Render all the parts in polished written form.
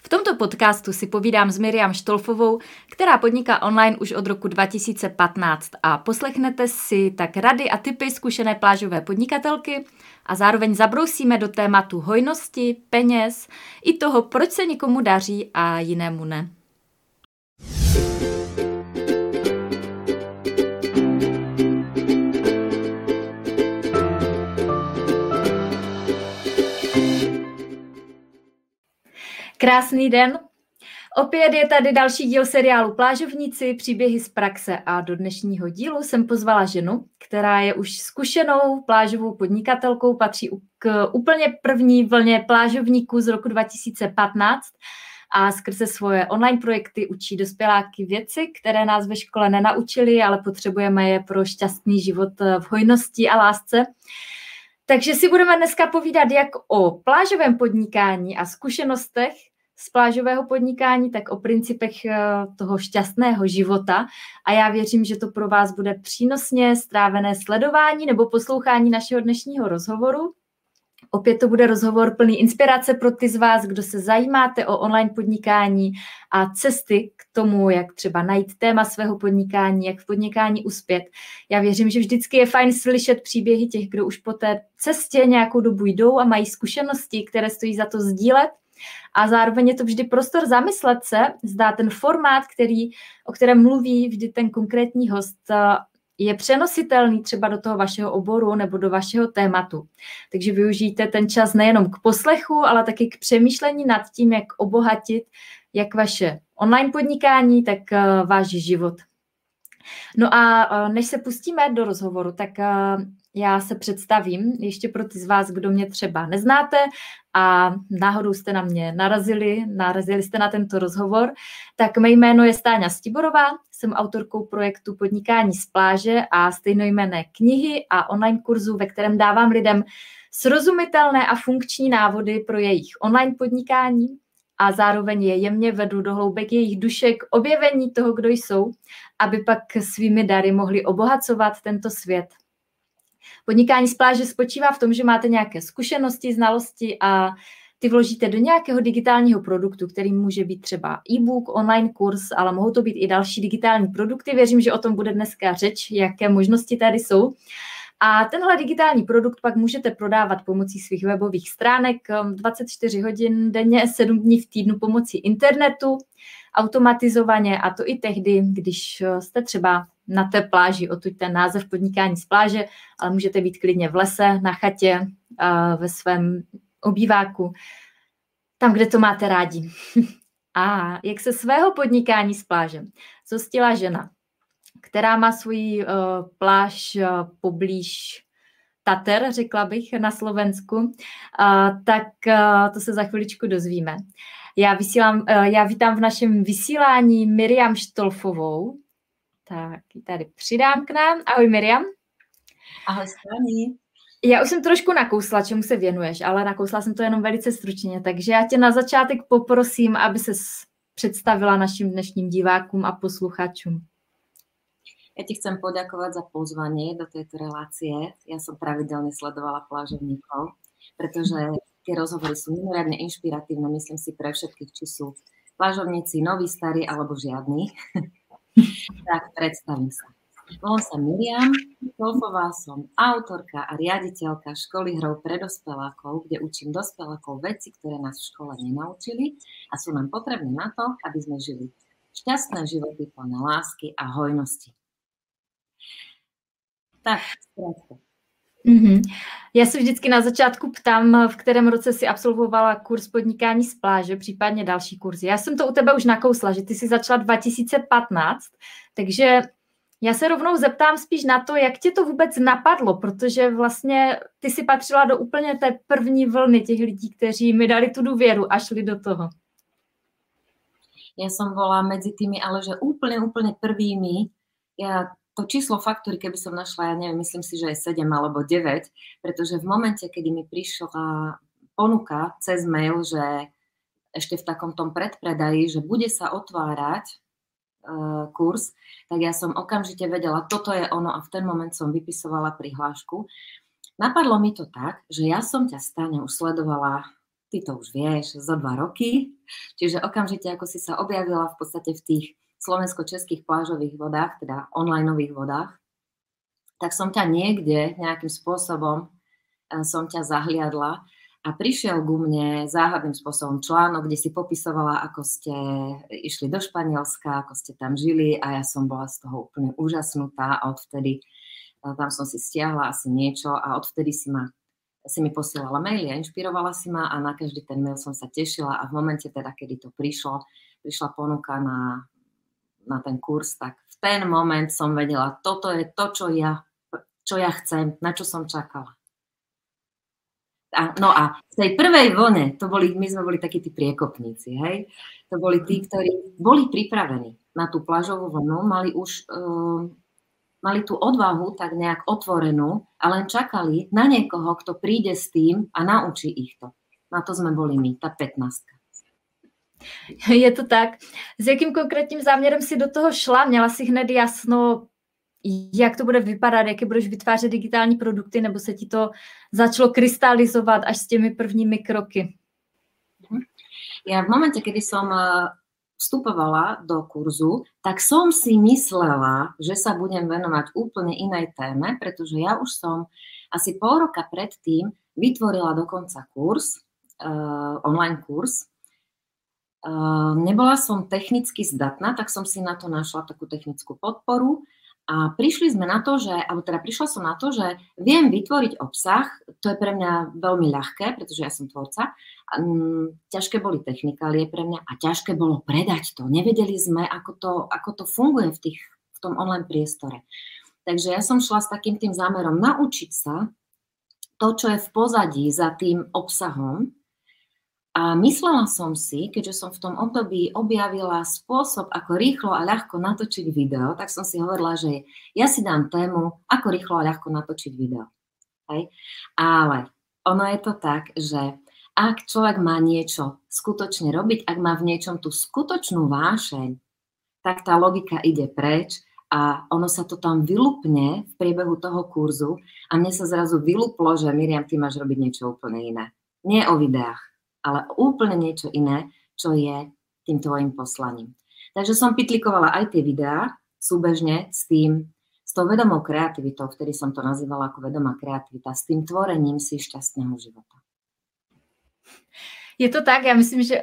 V tomto podcastu si povídám s Miriam Štolfovou, která podniká online už od roku 2015 a poslechnete si tak rady a tipy zkušené plážové podnikatelky a zároveň zabrousíme do tématu hojnosti, peněz i toho, proč se někomu daří a jinému ne. Krásný den. Opět je tady další díl seriálu Plážovníci, příběhy z praxe a do dnešního dílu jsem pozvala ženu, která je už zkušenou plážovou podnikatelkou, patří k úplně první vlně plážovníků z roku 2015 a skrze svoje online projekty učí dospěláky věci, které nás ve škole nenaučili, ale potřebujeme je pro šťastný život v hojnosti a lásce. Takže si budeme dneska povídat jak o plážovém podnikání a zkušenostech z plážového podnikání, tak o principech toho šťastného života. A já věřím, že to pro vás bude přínosně strávené sledování nebo poslouchání našeho dnešního rozhovoru. Opět to bude rozhovor plný inspirace pro ty z vás, kdo se zajímáte o online podnikání a cesty k tomu, jak třeba najít téma svého podnikání, jak v podnikání uspět. Já věřím, že vždycky je fajn slyšet příběhy těch, kdo už po té cestě nějakou dobu jdou a mají zkušenosti, které stojí za to sdílet. A zároveň je to vždy prostor zamyslet se, zda ten formát, o kterém mluví vždy ten konkrétní host, je přenositelný třeba do toho vašeho oboru nebo do vašeho tématu. Takže využijte ten čas nejenom k poslechu, ale taky k přemýšlení nad tím, jak obohatit jak vaše online podnikání, tak váš život. No a než se pustíme do rozhovoru, tak já se představím ještě pro ty z vás, kdo mě třeba neznáte a náhodou jste na mě narazili jste na tento rozhovor, tak mé jméno je Stáňa Stiborová, jsem autorkou projektu Podnikání z pláže a stejnojmenné knihy a online kurzu, ve kterém dávám lidem srozumitelné a funkční návody pro jejich online podnikání a zároveň je jemně vedu do hloubek jejich duše k objevení toho, kdo jsou, aby pak svými dary mohli obohacovat tento svět. Podnikání z pláže spočívá v tom, že máte nějaké zkušenosti, znalosti a ty vložíte do nějakého digitálního produktu, který může být třeba e-book, online kurz, ale mohou to být i další digitální produkty. Věřím, že o tom bude dneska řeč, jaké možnosti tady jsou. A tenhle digitální produkt pak můžete prodávat pomocí svých webových stránek 24 hodin denně, 7 dní v týdnu pomocí internetu, automatizovaně a to i tehdy, když jste třeba na té pláži, odtud ten název Podnikání z pláže, ale můžete být klidně v lese, na chatě, ve svém obýváku, tam, kde to máte rádi. A jak se svého podnikání z pláže zhostila žena, která má svoji pláž poblíž Tater, řekla bych, na Slovensku, tak to se za chviličku dozvíme. Já vítám v našem vysílání Miriam Štolfovou. Tak ji tady přidám k nám. Ahoj Miriam. Ahoj Stani. Já už jsem trošku nakousla, čemu se věnuješ, ale nakousla jsem to jenom velice stručně, takže já tě na začátek poprosím, aby ses představila našim dnešním divákům a posluchačům. Ja ti chcem poďakovať za pozvanie do tejto relácie. Ja som pravidelne sledovala plážovníkov, pretože tie rozhovory sú mimoriadne inšpiratívne, myslím si, pre všetkých, či sú plážovníci noví, starí alebo žiadni. Tak predstavím sa. Volám sa Miriam Štolfová, som autorka a riaditeľka školy hrou pre dospelákov, kde učím dospelákov veci, ktoré nás v škole nenaučili a sú nám potrebné na to, aby sme žili šťastné životy plné lásky a hojnosti. Tak, zkrátka. Já se vždycky na začátku ptám, v kterém roce si absolvovala kurz Podnikání z pláže, případně další kurzy. Já jsem to u tebe už nakousla, že ty jsi začala 2015, takže já se rovnou zeptám spíš na to, jak tě to vůbec napadlo, protože vlastně ty si patřila do úplně té první vlny těch lidí, kteří mi dali tu důvěru a šli do toho. Ja som bola medzi tými, ale že úplne prvými. To číslo faktúry, keby som našla, ja neviem, myslím si, že je 7 alebo 9, pretože v momente, kedy mi prišla ponuka cez mail, že ešte v takom tom predpredaji, že bude sa otvárať kurz, tak ja som okamžite vedela, toto je ono a v ten moment som vypisovala prihlášku. Napadlo mi to tak, že ja som ťa, Stáňa, už sledovala ty to už vieš, zo 2 roky, čiže okamžite, ako si sa objavila v podstate v tých slovensko-českých plážových vodách, teda onlineových vodách, tak som ťa niekde nejakým spôsobom som ťa zahliadla a prišiel ku mne záhadným spôsobom článok, kde si popisovala, ako ste išli do Španielska, ako ste tam žili a ja som bola z toho úplne úžasnutá a odvtedy tam som si stiahla asi niečo a odvtedy si mi posielala maily a inšpirovala si ma a na každý ten mail som sa tešila a v momente teda, kedy to prišla ponuka na ten kurz, tak v ten moment som vedela, toto je to, čo ja chcem, na čo som čakala. No a v tej prvej vlne, my sme boli takí tí priekopníci, hej? To boli tí, ktorí boli pripravení na tú plážovú vlnu, mali tú odvahu tak nejak otvorenú a len čakali na niekoho, kto príde s tým a naučí ich to. Na to sme boli my, tá 15. Je to tak. S jakým konkrétním záměrem si do toho šla? Měla si hned jasno, jak to bude vypadat, jaké budeš vytvářet digitální produkty, nebo se ti to začalo krystalizovat až s těmi prvními kroky? Ja v momente, kedy som vstupovala do kurzu, tak som si myslela, že sa budem venovať úplne inej téme, pretože ja už som asi pol roka predtým vytvorila dokonca kurz, online kurz. Nebola som technicky zdatná, tak som si na to našla takú technickú podporu. A prišla som na to, že viem vytvoriť obsah, to je pre mňa veľmi ľahké, pretože ja som tvorca. Ťažké boli technikálie pre mňa a ťažké bolo predať to. Nevedeli sme, ako to funguje v tom online priestore. Takže ja som šla s takým tým zámerom naučiť sa to, čo je v pozadí za tým obsahom. A myslela som si, keďže som v tom období objavila spôsob, ako rýchlo a ľahko natočiť video, tak som si hovorila, že ja si dám tému, ako rýchlo a ľahko natočiť video. Hej? Ale ono je to tak, že ak človek má niečo skutočne robiť, ak má v niečom tú skutočnú vášeň, tak tá logika ide preč a ono sa to tam vylupne v priebehu toho kurzu a mne sa zrazu vyluplo, že Miriam, ty máš robiť niečo úplne iné. Nie o videách, ale úplne niečo iné, čo je tým tvojim poslaním. Takže som pitlikovala aj tie videá súbežne s tou vedomou kreativitou, vtedy som to nazývala ako vedomá kreativita, s tým tvorením si šťastného života. Je to tak, já myslím, že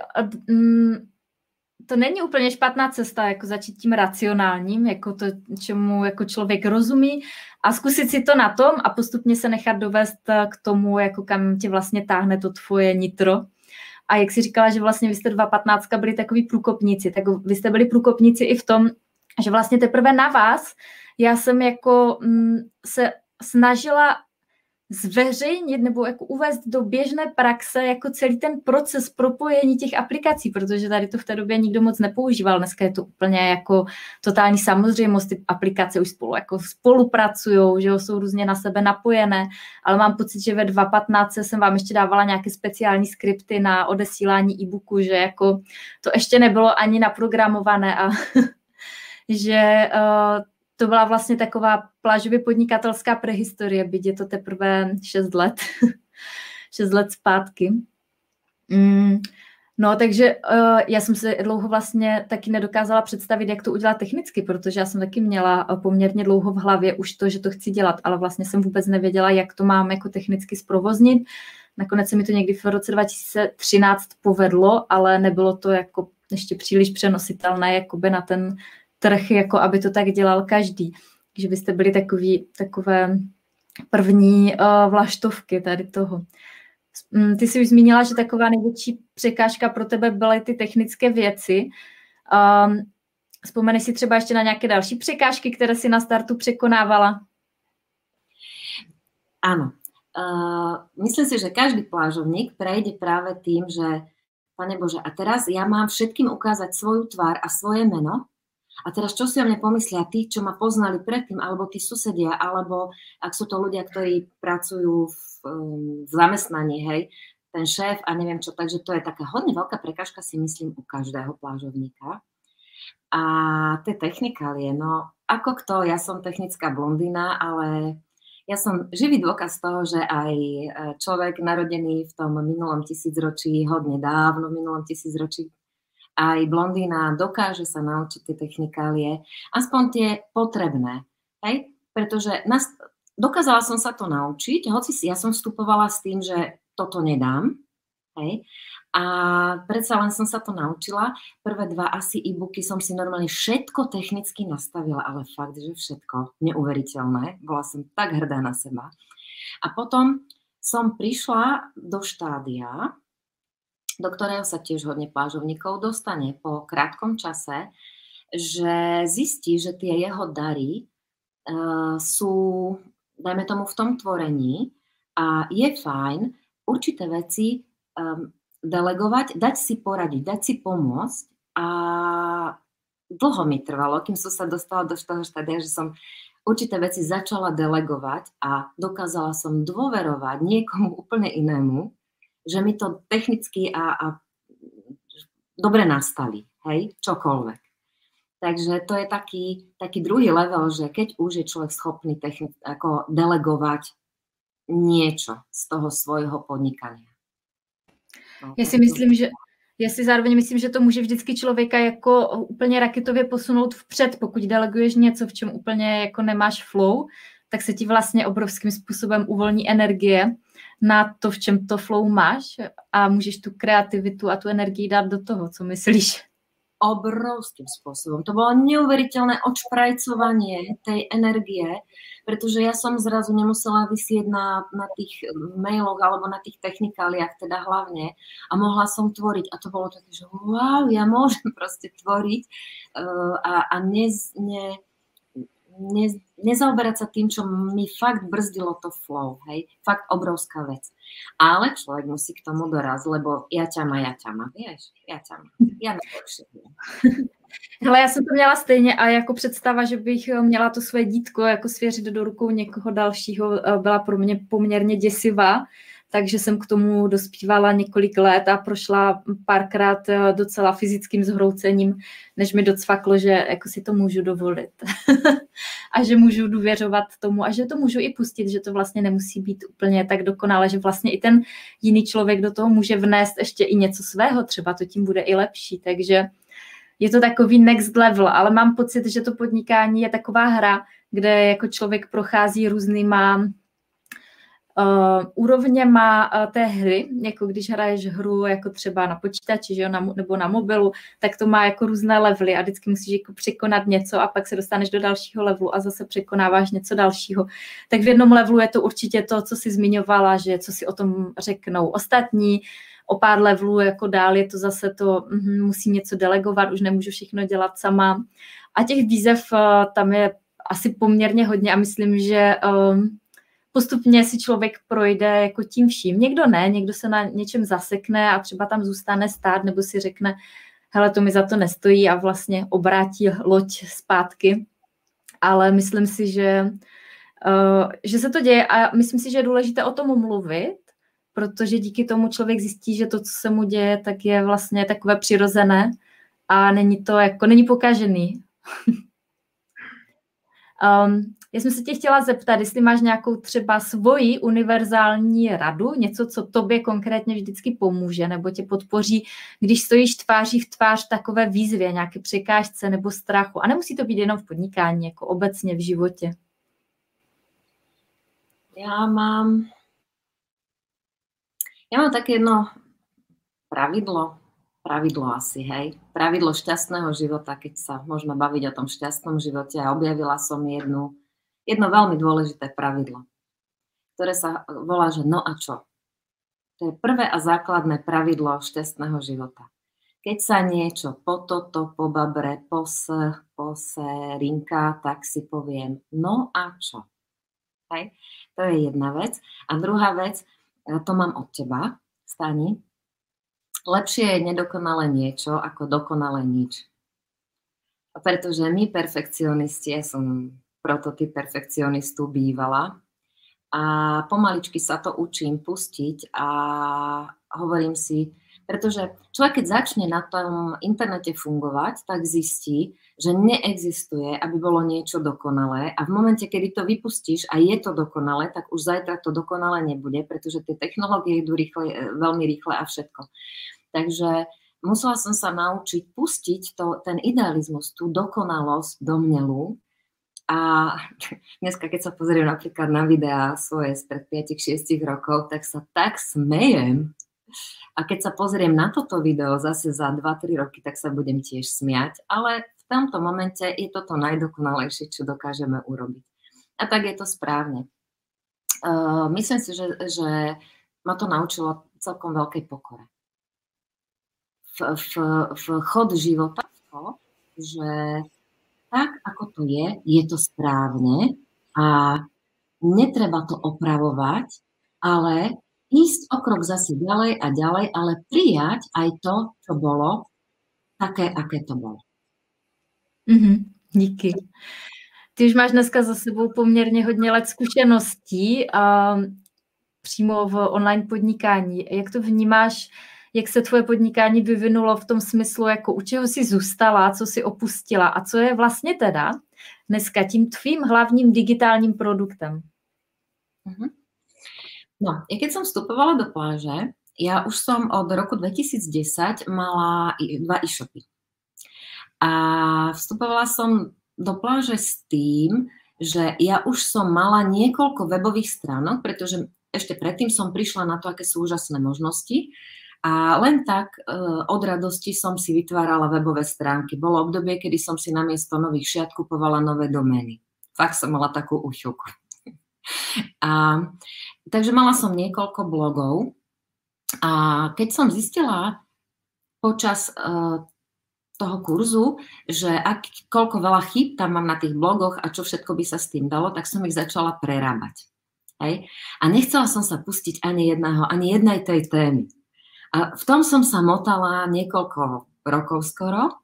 to není úplně špatná cesta, jako začít tím racionálním, jako to, čemu jako člověk rozumí a zkusit si to na tom a postupně se nechat dovést k tomu, jako kam tě vlastně táhne to tvoje nitro. A jak jsi říkala, že vlastně vy jste 2.15 byli takový průkopníci, tak vy jste byli průkopníci i v tom, že vlastně teprve na vás já jsem jako se snažila zveřejnit nebo jako uvést do běžné praxe jako celý ten proces propojení těch aplikací, protože tady to v té době nikdo moc nepoužíval. Dneska je to úplně jako totální samozřejmost, ty aplikace už spolupracujou, že jsou různě na sebe napojené, ale mám pocit, že ve 2.15 jsem vám ještě dávala nějaké speciální skripty na odesílání e-booku, že jako to ještě nebylo ani naprogramované a že to byla vlastně taková plážově podnikatelská prehistorie, byť je to teprve 6 let. 6 let zpátky. No, takže já jsem se dlouho vlastně taky nedokázala představit, jak to udělat technicky, protože já jsem taky měla poměrně dlouho v hlavě už to, že to chci dělat, ale vlastně jsem vůbec nevěděla, jak to mám jako technicky zprovoznit. Nakonec se mi to někdy v roce 2013 povedlo, ale nebylo to jako ještě příliš přenositelné jakoby na ten trh, jako aby to tak dělal každý. Takže byste byli takové první vlaštovky tady toho. Ty jsi už zmínila, že taková největší překážka pro tebe byly ty technické věci. Vzpomeneš si třeba ještě na nějaké další překážky, které si na startu překonávala? Áno. Myslím si, že každý plážovník prejde práve tým, že Pane Bože, a teraz ja mám všetkým ukázať svoju tvár a svoje meno. A teraz čo si o mne pomyslia tí, čo ma poznali predtým, alebo tí susedia, alebo ak sú to ľudia, ktorí pracujú v zamestnaní, hej, ten šéf a neviem čo. Takže to je taká hodne veľká prekážka, si myslím, u každého plážovníka. A tie technikálie, no ako kto, ja som technická blondína, ale Ja som živý dôkaz toho, že aj človek narodený v tom minulom tisícročí, hodne dávno v minulom tisícročí, aj blondína dokáže sa naučiť tie technikálie, aspoň tie potrebné. Hej? Pretože dokázala som sa to naučiť, hoci ja som vstupovala s tým, že toto nedám. Hej? A predsa len som sa to naučila. Prvé 2 asi e-booky som si normálne všetko technicky nastavila, ale fakt, že všetko. Neuveriteľné. Bola som tak hrdá na seba. A potom som prišla do štádia, do ktorého sa tiež hodne plážovníkov dostane po krátkom čase, že zistí, že tie jeho dary sú, dajme tomu, v tom tvorení a je fajn určité veci delegovať, dať si poradiť, dať si pomôcť a dlho mi trvalo, kým som sa dostala do toho štádia, že som určité veci začala delegovať a dokázala som dôverovať niekomu úplne inému, že mi to technicky a dobre nastaví, hej, čokoľvek. Takže to je taký druhý level, že keď už je človek schopný ako delegovať niečo z toho svojho podnikania. Já si zároveň myslím, že to může vždycky člověka jako úplně raketově posunout vpřed, pokud deleguješ něco, v čem úplně jako nemáš flow, tak se ti vlastně obrovským způsobem uvolní energie na to, v čem to flow máš a můžeš tu kreativitu a tu energii dát do toho, co myslíš. Obrovským spôsobom. To bolo neuveriteľné odšprajcovanie tej energie, pretože ja som zrazu nemusela vysieť na tých mailoch alebo na tých technikáliách, teda hlavne, a mohla som tvoriť. A to bolo také, že wow, ja môžem proste tvoriť a nezaoberať sa tým, čo mi fakt brzdilo to flow, hej, fakt obrovská vec. Ale človek musí k tomu dorazť, lebo ja ťama, vieš, ja najlepšie viem. Hele, já jsem to měla stejně a jako představa, že bych měla to své dítko jako svěřit do rukou někoho dalšího, byla pro mě poměrně děsivá, takže jsem k tomu dospívala několik let a prošla párkrát docela fyzickým zhroucením, než mi docvaklo, že jako si to můžu dovolit a že můžu důvěřovat tomu a že to můžu i pustit, že to vlastně nemusí být úplně tak dokonale, že vlastně i ten jiný člověk do toho může vnést ještě i něco svého, třeba to tím bude i lepší, takže je to takový next level, ale mám pocit, že to podnikání je taková hra, kde jako člověk prochází různýma úrovněma té hry, jako když hraješ hru jako třeba na počítači, že jo, nebo na mobilu, tak to má jako různé levely a vždycky musíš jako překonat něco a pak se dostaneš do dalšího levelu a zase překonáváš něco dalšího. Tak v jednom levelu je to určitě to, co jsi zmiňovala, že co si o tom řeknou ostatní, o pár levelů jako dál je to zase to, musím něco delegovat, už nemůžu všechno dělat sama. A těch výzev tam je asi poměrně hodně a myslím, že postupně si člověk projde jako tím vším. Někdo ne, někdo se na něčem zasekne a třeba tam zůstane stát nebo si řekne, hele, to mi za to nestojí a vlastně obrátí loď zpátky. Ale myslím si, že se to děje a myslím si, že je důležité o tom mluvit, protože díky tomu člověk zjistí, že to, co se mu děje, tak je vlastně takové přirozené a není pokažený. Já jsem se tě chtěla zeptat, jestli máš nějakou třeba svoji univerzální radu, něco, co tobě konkrétně vždycky pomůže nebo tě podpoří, když stojíš tváří v tvář takové výzvě, nějaké překážce nebo strachu. A nemusí to být jenom v podnikání, jako obecně v životě. Ja mám také jedno pravidlo asi, hej. Pravidlo šťastného života, keď sa môžeme baviť o tom šťastnom živote a objavila som jedno veľmi dôležité pravidlo, ktoré sa volá, že no a čo? To je prvé a základné pravidlo šťastného života. Keď sa niečo pobabre, rinká, tak si poviem, no a čo? Hej? To je jedna vec. A druhá vec, to mám od teba, Stani. Lepšie je nedokonalé niečo ako dokonalé nič. Pretože my perfekcionisti, ja som prototyp perfekcionistu bývala a pomaličky sa to učím pustiť a hovorím si, Pretože človek, keď začne na tom internete fungovať, tak zistí, že neexistuje, aby bolo niečo dokonalé a v momente, kedy to vypustíš a je to dokonalé, tak už zajtra to dokonalé nebude, pretože tie technológie idú rýchle, veľmi rýchle a všetko. Takže musela som sa naučiť pustiť ten idealizmus, tú dokonalosť domnelú. A dneska, keď sa pozriem napríklad na videá svoje spred 5-6 rokov, tak sa tak smejem. A keď sa pozriem na toto video zase za 2-3 roky, tak sa budem tiež smiať. Ale v tomto momente je toto najdokonalejšie, čo dokážeme urobiť. A tak je to správne. Myslím si, že ma to naučilo celkom veľkej pokore. V chod života to, že tak, ako to je to správne a netreba to opravovať, ale ísť o krok zase ďalej a ďalej, ale prijať aj to, čo bolo, také, aké to bolo. Díky. Ty už máš dneska za sebou poměrně hodně let zkušeností přímo v online podnikání. Jak to vnímáš, jak se tvoje podnikání vyvinulo v tom smyslu, jako u čeho jsi zůstala, co jsi opustila a co je vlastně teda dneska tím tvým hlavním digitálním produktem? No, keď som vstupovala do pláže, ja už som od roku 2010 mala 2 e-shopy. A vstupovala som do pláže s tým, že ja už som mala niekoľko webových stránok, pretože ešte predtým som prišla na to, aké sú úžasné možnosti a len tak od radosti som si vytvárala webové stránky. Bolo obdobie, kedy som si namiesto nových šiat kupovala nové domény. Fakt som mala takú úchylku. Takže mala som niekoľko blogov a keď som zistila počas toho kurzu, že koľko veľa chýb tam mám na tých blogoch a čo všetko by sa s tým dalo, tak som ich začala prerábať. Hej? A nechcela som sa pustiť ani jednej tej témy. A v tom som sa motala niekoľko rokov skoro,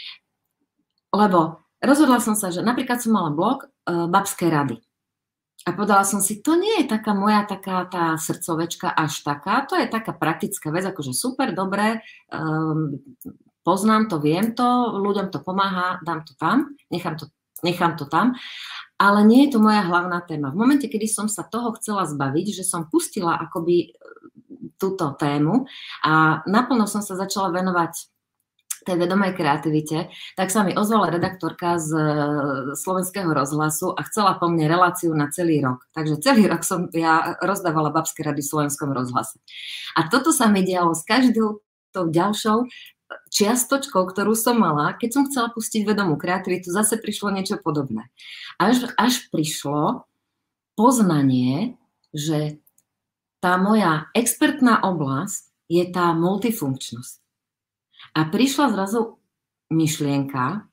lebo rozhodla som sa, že napríklad som mala blog Babské rady. A povedala som si, to nie je taká moja taká tá srdcovečka až taká, to je taká praktická vec, akože super, dobré, poznám to, viem to, ľuďom to pomáha, dám to tam, nechám to tam, ale nie je to moja hlavná téma. V momente, kedy som sa toho chcela zbaviť, že som pustila akoby túto tému a naplno som sa začala venovať tej vedomej kreativite, tak sa mi ozvala redaktorka z Slovenského rozhlasu a chcela po mne reláciu na celý rok. Takže celý rok som ja rozdávala babské rady v Slovenskom rozhlase. A toto sa mi dialo s každou tou ďalšou čiastočkou, ktorú som mala. Keď som chcela pustiť vedomú kreativitu, zase prišlo niečo podobné. Až prišlo poznanie, že tá moja expertná oblasť je tá multifunkčnosť. A prišla zrazu myšlienka,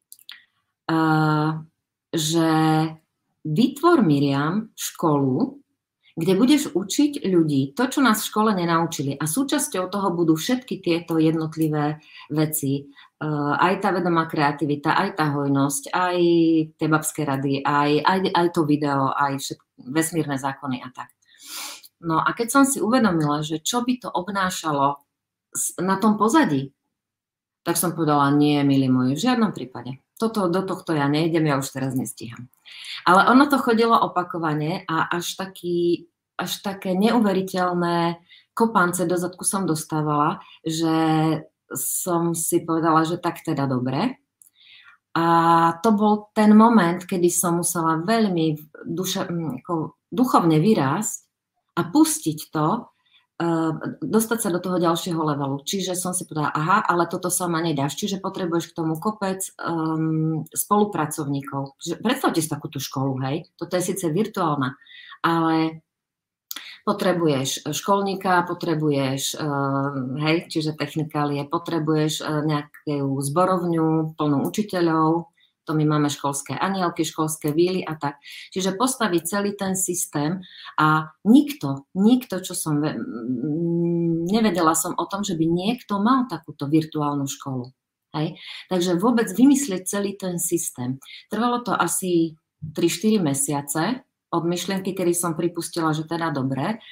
že vytvor, Miriam, školu, kde budeš učiť ľudí to, čo nás v škole nenaučili. A súčasťou toho budú všetky tieto jednotlivé veci. Aj tá vedomá kreativita, aj tá hojnosť, aj tie babské rady, aj to video, aj vesmírne zákony a tak. No a keď som si uvedomila, že čo by to obnášalo na tom pozadí, tak som povedala, nie, milí moji, v žiadnom prípade. Do tohto ja nejdem, ja už teraz nestíham. Ale ono to chodilo opakovane a až také neuveriteľné kopance do zadku som dostávala, že som si povedala, že tak teda dobre. A to bol ten moment, kedy som musela veľmi duchovne vyrásť a pustiť to, dostať sa do toho ďalšieho levelu. Čiže som si povedala, aha, ale toto sama nedáš, čiže potrebuješ k tomu kopec spolupracovníkov. Predstavte si takúto školu, hej, toto je síce virtuálna, ale potrebuješ školníka, potrebuješ, hej, čiže technikálie, potrebuješ nejakú zborovňu plnú učiteľov, to my máme školské anielky, školské víly a tak. Čiže postaviť celý ten systém a nikto, čo som nevedela som o tom, že by niekto mal takúto virtuálnu školu. Hej? Takže vôbec vymyslieť celý ten systém. Trvalo to asi 3-4 mesiace od myšlienky, kedy som pripustila, že teda dobre.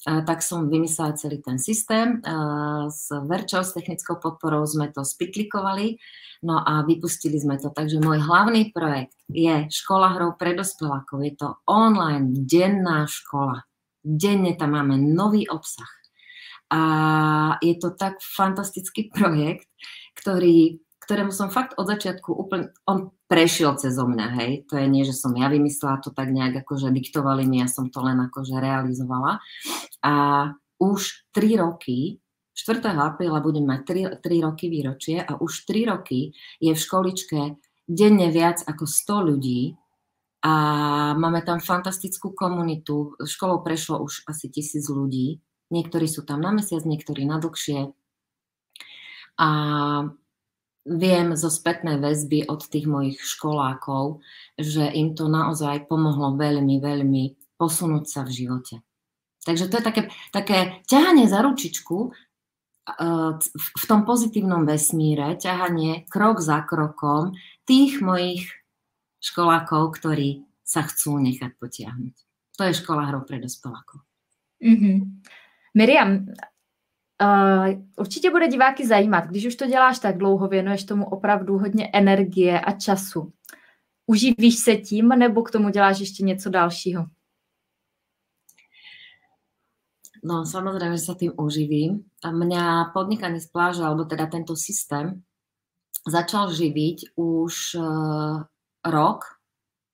tak som vymyslela celý ten systém. S Verčou, s technickou podporou sme to spitlikovali, no a vypustili sme to. Takže môj hlavný projekt je Škola hrou pre dospelákov. Je to online denná škola. Denne tam máme nový obsah. A je to tak fantastický projekt, ktorému som fakt od začiatku úplne, on prešiel cezo mňa, hej, to je nie, že som ja vymyslela, to tak nejak akože diktovali mi, ja som to len akože realizovala. A už 3 roky, 4. apríla budem mať 3 roky výročie a už 3 roky je v školičke denne viac ako 100 ľudí a máme tam fantastickú komunitu, školou prešlo už asi 1000 ľudí, niektorí sú tam na mesiac, niektorí na dlhšie a viem zo spätnej väzby od tých mojich školákov, že im to naozaj pomohlo veľmi, veľmi posunúť sa v živote. Takže to je také ťahanie za ručičku v tom pozitívnom vesmíre, ťahanie krok za krokom tých mojich školákov, ktorí sa chcú nechať potiahnuť. To je škola hrou pre dospelákov. Miriam, určitě bude diváky zajímat, když už to děláš tak dlouho, věnuješ tomu opravdu hodně energie a času. Uživíš se tím, nebo k tomu děláš ještě něco dalšího? No, samozrejme, že sa tým uživím. A mňa podnikanie z pláže, alebo teda tento systém, začal živiť už rok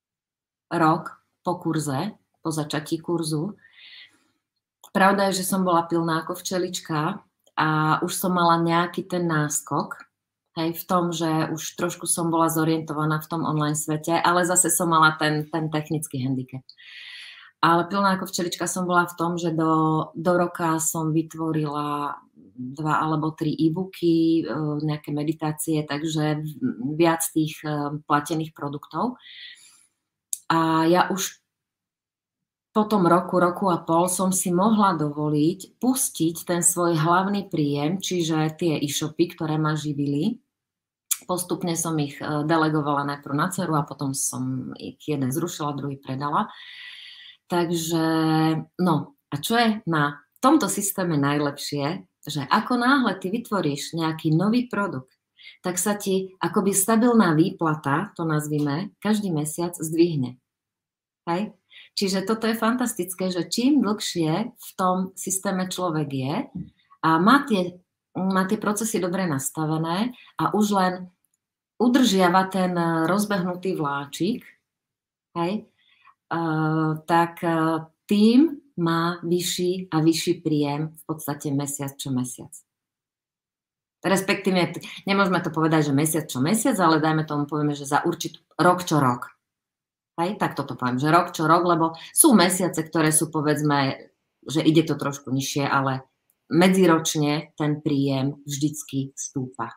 po kurze, po začatí kurzu. Pravda je, že som bola pilná ako včelička a už som mala nejaký ten náskok, hej, v tom, že už trošku som bola zorientovaná v tom online svete, ale zase som mala ten technický handicap. Ale pilná ako včelička som bola v tom, že do roka som vytvorila 2 alebo 3 e-booky, nejaké meditácie, takže viac tých platených produktov. A ja už po tom roku a pol som si mohla dovoliť pustiť ten svoj hlavný príjem, čiže tie e-shopy, ktoré ma živili. Postupne som ich delegovala najprv na dceru a potom som ich jeden zrušila, druhý predala. Takže, no, a čo je na tomto systéme najlepšie, že ako náhle ty vytvoríš nejaký nový produkt, tak sa ti akoby stabilná výplata, to nazvime, každý mesiac zdvihne. Hej? Čiže toto je fantastické, že čím dlhšie v tom systéme človek je a má tie procesy dobre nastavené a už len udržiava ten rozbehnutý vláčik, hej, tak tým má vyšší a vyšší príjem v podstate mesiac čo mesiac. Respektíve, nemôžeme to povedať, že mesiac čo mesiac, ale dajme tomu, povieme, že za určitú rok čo rok. Hej, tak toto poviem, že rok čo rok, lebo sú mesiace, ktoré sú, povedzme, že ide to trošku nižšie, ale medziročne ten príjem vždycky stúpa.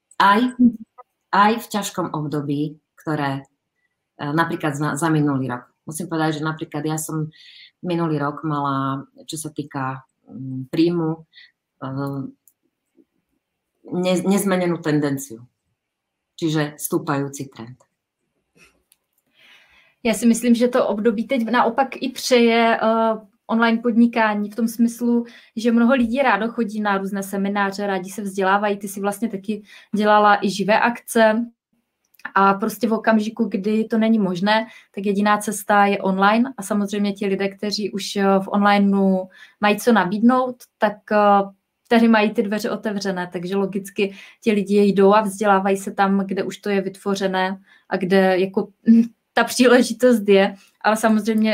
Aj v ťažkom období, ktoré napríklad za minulý rok. Musím povedať, že napríklad ja som minulý rok mala, čo sa týka príjmu, nezmenenú tendenciu. Čiže stúpajúci trend. Já si myslím, že to období teď naopak i přeje online podnikání v tom smyslu, že mnoho lidí rádo chodí na různé semináře, rádi se vzdělávají. Ty si vlastně taky dělala i živé akce a prostě v okamžiku, kdy to není možné, tak jediná cesta je online a samozřejmě ti lidé, kteří už v onlineu mají co nabídnout, tak tehdy mají ty dveře otevřené, takže logicky ti lidi jdou a vzdělávají se tam, kde už to je vytvořené a kde jako ta příležitost je, ale samozřejmě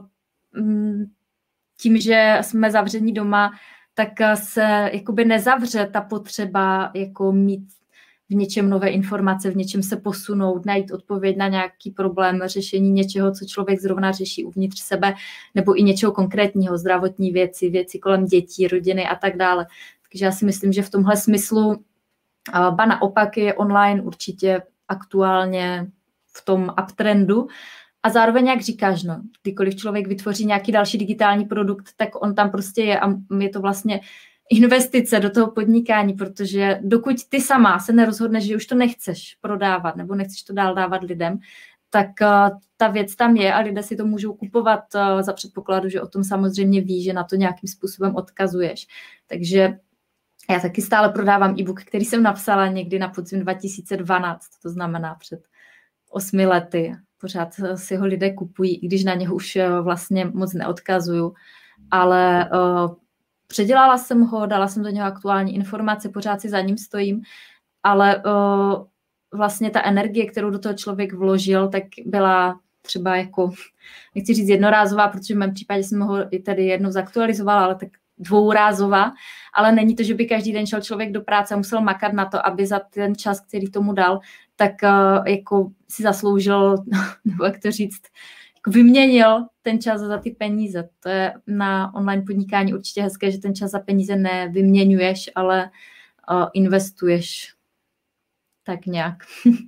tím, že jsme zavření doma, tak se jakoby nezavře ta potřeba jako mít v něčem nové informace, v něčem se posunout, najít odpověď na nějaký problém, řešení něčeho, co člověk zrovna řeší uvnitř sebe, nebo i něčeho konkrétního, zdravotní věci kolem dětí, rodiny a tak dále. Takže já si myslím, že v tomhle smyslu ba naopak je online určitě aktuálně v tom uptrendu. A zároveň, jak říkáš, no, kdykoliv člověk vytvoří nějaký další digitální produkt, tak on tam prostě je a je to vlastně investice do toho podnikání, protože dokud ty sama se nerozhodneš, že už to nechceš prodávat nebo nechceš to dál dávat lidem, tak ta věc tam je a lidé si to můžou kupovat za předpokladu, že o tom samozřejmě ví, že na to nějakým způsobem odkazuješ. Takže já taky stále prodávám e-book, který jsem napsala někdy na podzim 2012, to znamená před 8 lety. Pořád si ho lidé kupují, i když na něho už vlastně moc neodkazuju, ale předělala jsem ho, dala jsem do něho aktuální informace, pořád si za ním stojím, ale vlastně ta energie, kterou do toho člověk vložil, tak byla třeba jako, nechci říct jednorázová, protože v mém případě jsem ho i tady jednou zaktualizovala, ale tak dvourázová, ale není to, že by každý den šel člověk do práce a musel makat na to, aby za ten čas, který tomu dal, tak jako si zasloužil, nebo jak to říct, jako vyměnil ten čas za ty peníze. To je na online podnikání určitě hezké, že ten čas za peníze nevyměňuješ, ale investuješ tak nějak.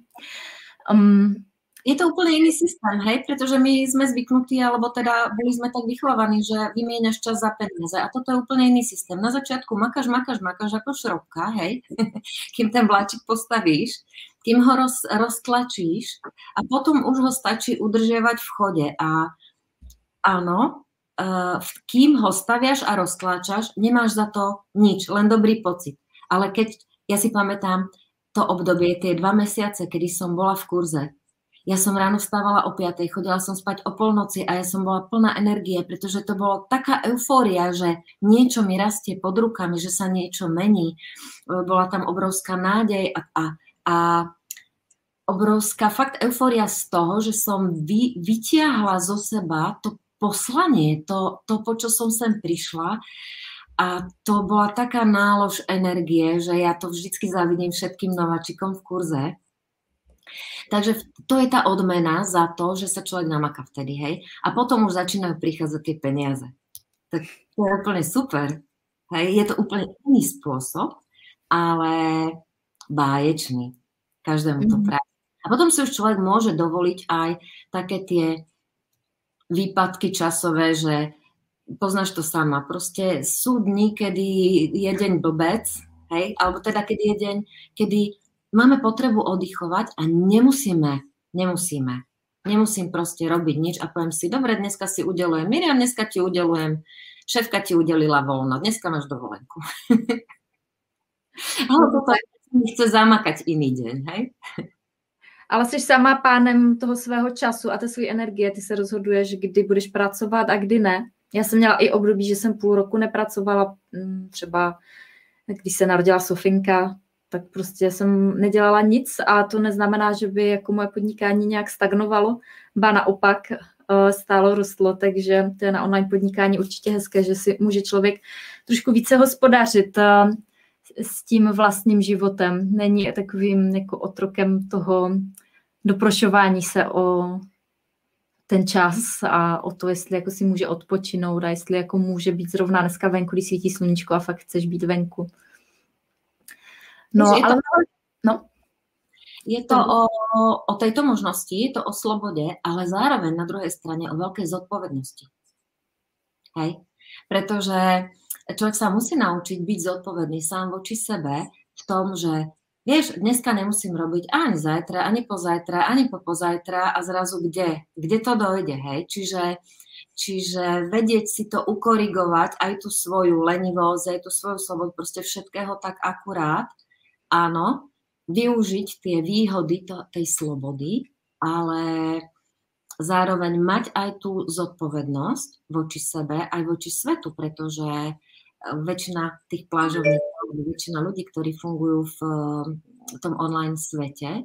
Je to úplne iný systém, hej? Pretože my sme zvyknutí, alebo teda boli sme tak vychovaní, že vymieňaš čas za peniaze. A toto je úplne iný systém. Na začiatku makáš ako šrobka, hej? Kým ten vláčik postavíš, kým ho roztlačíš a potom už ho stačí udržiavať v chode. A áno, kým ho staviaš a roztlačaš, nemáš za to nič, len dobrý pocit. Ale keď, ja si pamätám to obdobie, tie 2 mesiace, kedy som bola v kurze, ja som ráno vstávala o 5:00, chodila som spať o polnoci a ja som bola plná energie, pretože to bolo taká eufória, že niečo mi rastie pod rukami, že sa niečo mení. Bola tam obrovská nádej a obrovská fakt eufória z toho, že som vytiahla zo seba to poslanie, to po čo som sem prišla. A to bola taká nálož energie, že ja to vždycky závidím všetkým nováčikom v kurze. Takže to je tá odmena za to, že sa človek namaká vtedy, hej. A potom už začínajú prichádzať tie peniaze. Tak to je úplne super. Hej. Je to úplne iný spôsob, ale báječný. Každému to praje. A potom si už človek môže dovoliť aj také tie výpadky časové, že poznáš to sama. Proste sú dni, kedy je deň blbec, hej, alebo teda kedy je deň, kedy máme potrebu oddychovať a nemusím proste robiť nič a poviem si, dobre, dneska si udelujem, Miriam, dneska ti udelujem, šéfka ti udelila voľno, dneska máš dovolenku. Ale toto chce zamakať iný deň, hej? Ale jsi sama pánem toho svého času a té své energie, ty se rozhoduješ, kdy budeš pracovat a kdy ne. Já jsem měla i období, že jsem půl roku nepracovala, třeba když se narodila Sofinka, tak prostě jsem nedělala nic a to neznamená, že by jako moje podnikání nějak stagnovalo, ba naopak stálo rostlo, takže to je na online podnikání určitě hezké, že si může člověk trošku více hospodařit s tím vlastním životem. Není takovým jako otrokem toho doprošování se o ten čas a o to, jestli jako si může odpočinout a jestli jako může být zrovna dneska venku, když svítí sluníčko a fakt chceš být venku. No, ale... Je to o tejto možnosti, je to o slobode, ale zároveň na druhej strane o veľkej zodpovednosti. Hej? Pretože človek sa musí naučiť byť zodpovedný sám voči sebe v tom, že vieš, dneska nemusím robiť ani zajtra, ani pozajtra, ani popozajtra a zrazu kde to dojde, hej? Čiže vedieť si to ukorigovať, aj tú svoju lenivosť, aj tú svoju slobodu, proste všetkého tak akurát, áno, využiť tie výhody tej slobody, ale zároveň mať aj tú zodpovednosť voči sebe, aj voči svetu, pretože väčšina tých plážovníkov, väčšina ľudí, ktorí fungujú v tom online svete,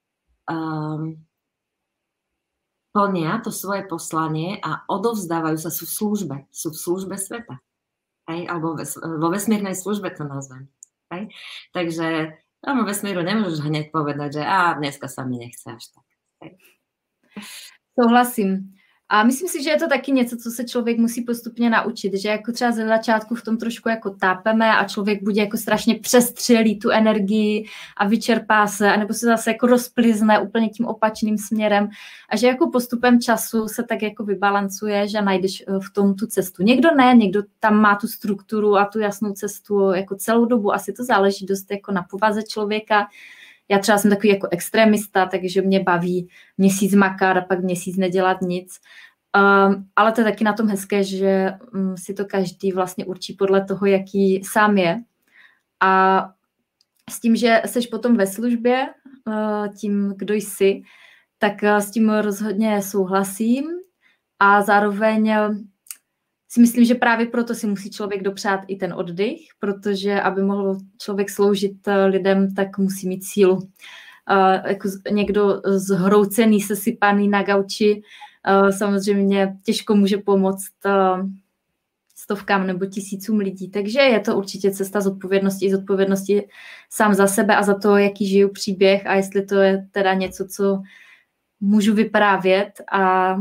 plnia to svoje poslanie a odovzdávajú sa, sú v službe sveta. Hej? Alebo vo vesmírnej službe to nazvem. Hej? Takže tomu vesmíru nemôžeš hneď povedať, že dneska sa mi nechce až tak. Hej? Souhlasím. A myslím si, že je to taky něco, co se člověk musí postupně naučit, že jako třeba ze začátku v tom trošku jako tápeme a člověk bude jako strašně přestřelí tu energii a vyčerpá se, anebo se zase jako rozplizne úplně tím opačným směrem a že jako postupem času se tak jako vybalancuje, že najdeš v tom tu cestu. Někdo ne, někdo tam má tu strukturu a tu jasnou cestu jako celou dobu, asi to záleží dost jako na povaze člověka. Já třeba jsem takový jako extremista, takže mě baví měsíc makat a pak měsíc nedělat nic. Ale to je taky na tom hezké, že si to každý vlastně určí podle toho, jaký sám je. A s tím, že seš potom ve službě, tím, kdo jsi, tak s tím rozhodně souhlasím a zároveň si myslím, že právě proto si musí člověk dopřát i ten oddych, protože aby mohl člověk sloužit lidem, tak musí mít sílu. Jako někdo zhroucený, sesypaný na gauči samozřejmě těžko může pomoct stovkám nebo tisícům lidí. Takže je to určitě cesta zodpovědnosti sám za sebe a za to, jaký žiju příběh a jestli to je teda něco, co můžu vyprávět a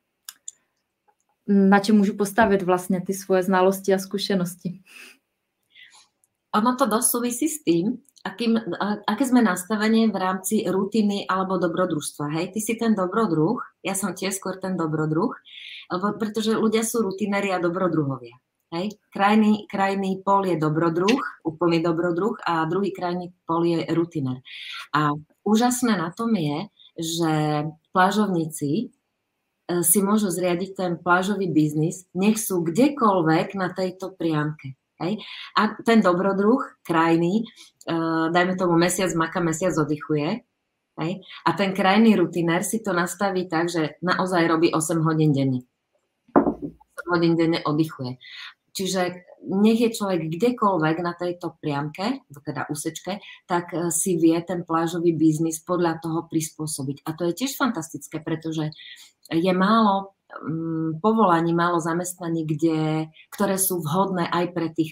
na čem můžu postavit vlastně ty svoje znalosti a zkušenosti. Ono to dosť súvisí s tým, aké sme nastavenie v rámci rutiny alebo dobrodružstva. Hej, ty si ten dobrodruh, ja som tiež skôr ten dobrodruh, pretože ľudia sú rutinéri a dobrodruhovia. Hej, krajný pol je dobrodruh, úplný dobrodruh a druhý krajný pol je rutinér. A úžasné na tom je, že plážovníci si môžu zriadiť ten plážový biznis, nech sú kdekoľvek na tejto priamke. Hej. A ten dobrodruh krajný, dajme tomu mesiac maka, mesiac oddychuje. Hej. A ten krajný rutinér si to nastaví tak, že naozaj robí 8 hodín denne. 8 hodín denne oddychuje. Čiže nech je človek kdekoľvek na tejto priamke, teda úsečke, tak si vie ten plážový biznis podľa toho prispôsobiť. A to je tiež fantastické, pretože je málo povolaní, málo zamestnaní, ktoré sú vhodné aj pre tých.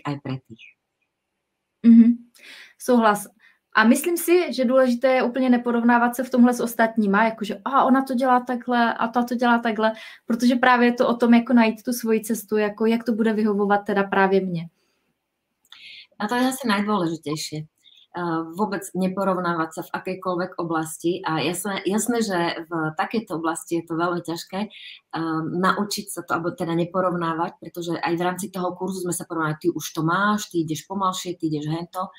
Souhlas. A myslím si, že důležité je úplně neporovnávat se v tomhle s ostatníma, jakože ona to dělá takhle a ta to dělá takhle, protože právě je to o tom, jako najít tu svoji cestu, jako jak to bude vyhovovat teda právě mně. A to je asi najdôležitejšie. Vôbec neporovnávať sa v akejkoľvek oblasti a jasné, že v takejto oblasti je to veľmi ťažké naučiť sa to, alebo teda neporovnávať, pretože aj v rámci toho kurzu sme sa porovnali, ty už to máš, ty ideš pomalšie, ty ideš hento.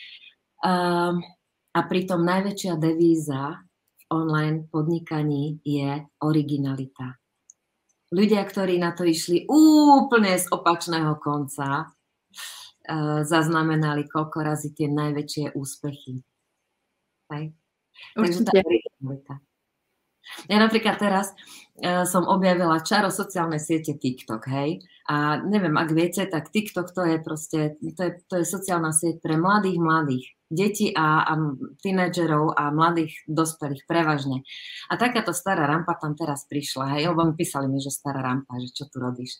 A pritom najväčšia devíza v online podnikaní je originalita. Ľudia, ktorí na to išli úplne z opačného konca, zaznamenali koľko razy tie najväčšie úspechy. Hej. Takže tá originalita. Ja napríklad teraz som objavila čaro sociálnej siete TikTok, hej. A neviem, ak viete, tak TikTok to je proste, to je sociálna sieť pre mladých, detí a tínedžerov a mladých dospelých prevažne. A takáto stará rampa tam teraz prišla, hej, lebo mi písali mi, že stará rampa, že čo tu robíš.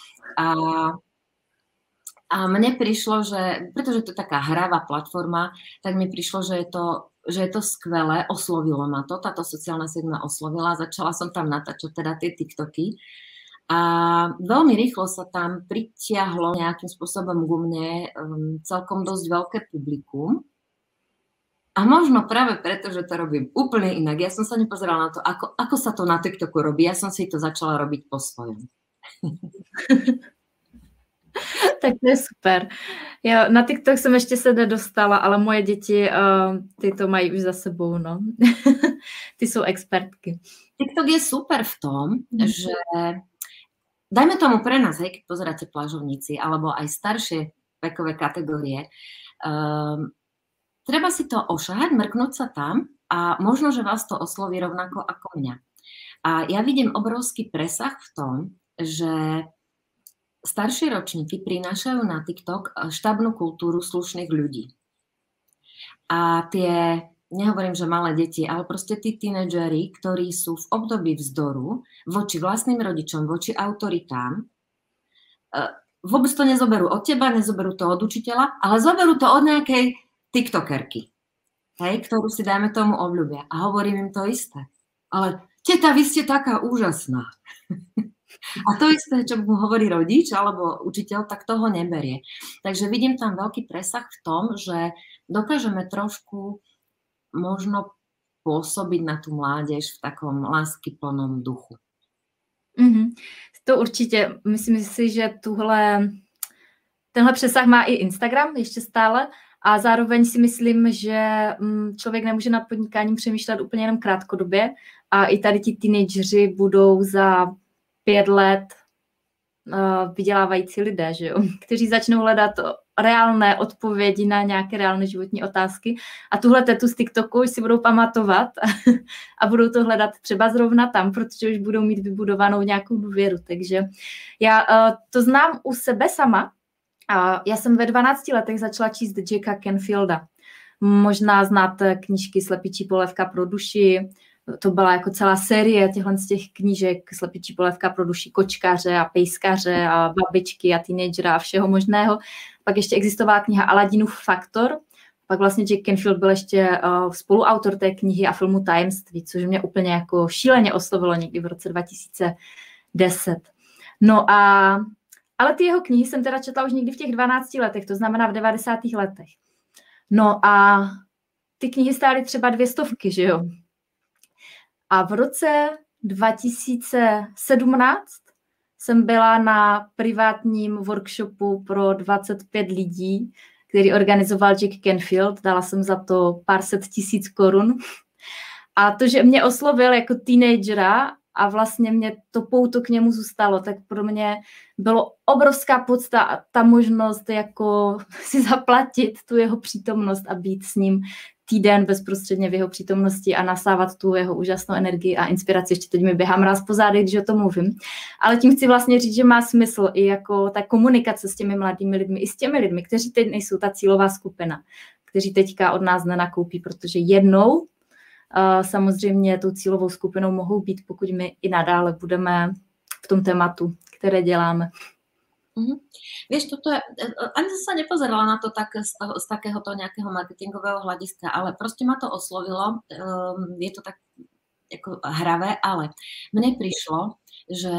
A mne prišlo, že, pretože to je taká hravá platforma, tak mi prišlo, že je to skvelé, oslovilo ma to, táto sociálna sieť ma oslovila, začala som tam natáčať teda tie TikToky a veľmi rýchlo sa tam pritiahlo nejakým spôsobom ku mne celkom dosť veľké publikum. A možno práve preto, že to robím úplne inak. Ja som sa nepozerala na to, ako sa to na TikToku robí, ja som si to začala robiť po svojom. Tak to je super. Jo, na TikTok jsem ještě se nedostala, ale moje děti, ty to mají už za sebou, no. Ty jsou expertky. TikTok je super v tom, že dajme tomu pre nás, hej, keď pozeráte plážovníci, alebo aj staršie vekové kategórie, treba si to ošahať, mrknúť sa tam a možno, že vás to osloví rovnako ako mňa. A ja vidím obrovský presah v tom, že staršie ročníky prinášajú na TikTok štábnu kultúru slušných ľudí. A tie, nehovorím, že malé deti, ale proste tí tínedžeri, ktorí sú v období vzdoru voči vlastným rodičom, voči autoritám, vôbec to nezoberú od teba, nezoberú to od učiteľa, ale zoberú to od nejakej tiktokerky, hej, ktorú si, dajme tomu, obľúbia. A hovorím im to isté. Ale teta, vy ste taká úžasná. A to isté, čo mu hovorí rodič alebo učiteľ, tak toho neberie. Takže vidím tam veľký presah v tom, že dokážeme trošku možno pôsobiť na tú mládež v takom láskyplnom duchu. To určitě. Myslím si, že tenhle přesah má i Instagram ještě stále A zároveň si myslím, že člověk nemůže nad podnikáním přemýšlet úplně jenom krátkodobě a i tady ti teenageři budou za 5 let vydělávající lidé, že jo? Kteří začnou hledat reálné odpovědi na nějaké reálné životní otázky a tuhle tetu z TikToku už si budou pamatovat a budou to hledat třeba zrovna tam, protože už budou mít vybudovanou nějakou důvěru. Takže já to znám u sebe sama. Já jsem ve 12 letech začala číst Jacka Canfielda. Možná znáte knížky Slepičí polévka pro duši. To byla jako celá série z těch knížek Slepičí polévka pro duši kočkaře a pejskaře a babičky a teenagera a všeho možného. Pak ještě existovala kniha Aladinův faktor. Pak vlastně Jack Canfield byl ještě spoluautor té knihy a filmu Tajemství, což mě úplně jako šíleně oslovilo někdy v roce 2010. No ale ty jeho knihy jsem teda četla už někdy v těch 12 letech, to znamená v 90. letech. No a ty knihy stály třeba 200, že jo? A v roce 2017 jsem byla na privátním workshopu pro 25 lidí, který organizoval Jack Canfield. Dala jsem za to pár set tisíc korun. A to, že mě oslovil jako teenagera a vlastně mě to pouto k němu zůstalo, tak pro mě bylo obrovská podsta ta možnost jako si zaplatit tu jeho přítomnost a být s ním týden bezprostředně v jeho přítomnosti a nasávat tu jeho úžasnou energii a inspiraci. Ještě teď mi běhá mráz po zádech, když o tom mluvím. Ale tím chci vlastně říct, že má smysl i jako ta komunikace s těmi mladými lidmi, i s těmi lidmi, kteří teď nejsou ta cílová skupina, kteří teďka od nás nenakoupí, protože jednou samozřejmě tou cílovou skupinou mohou být, pokud my i nadále budeme v tom tématu, které děláme. Vieš, toto je, ani som sa nepozerala na to tak z takéhoto nejakého marketingového hľadiska, ale proste ma to oslovilo, je to tak ako hravé, ale mne prišlo, že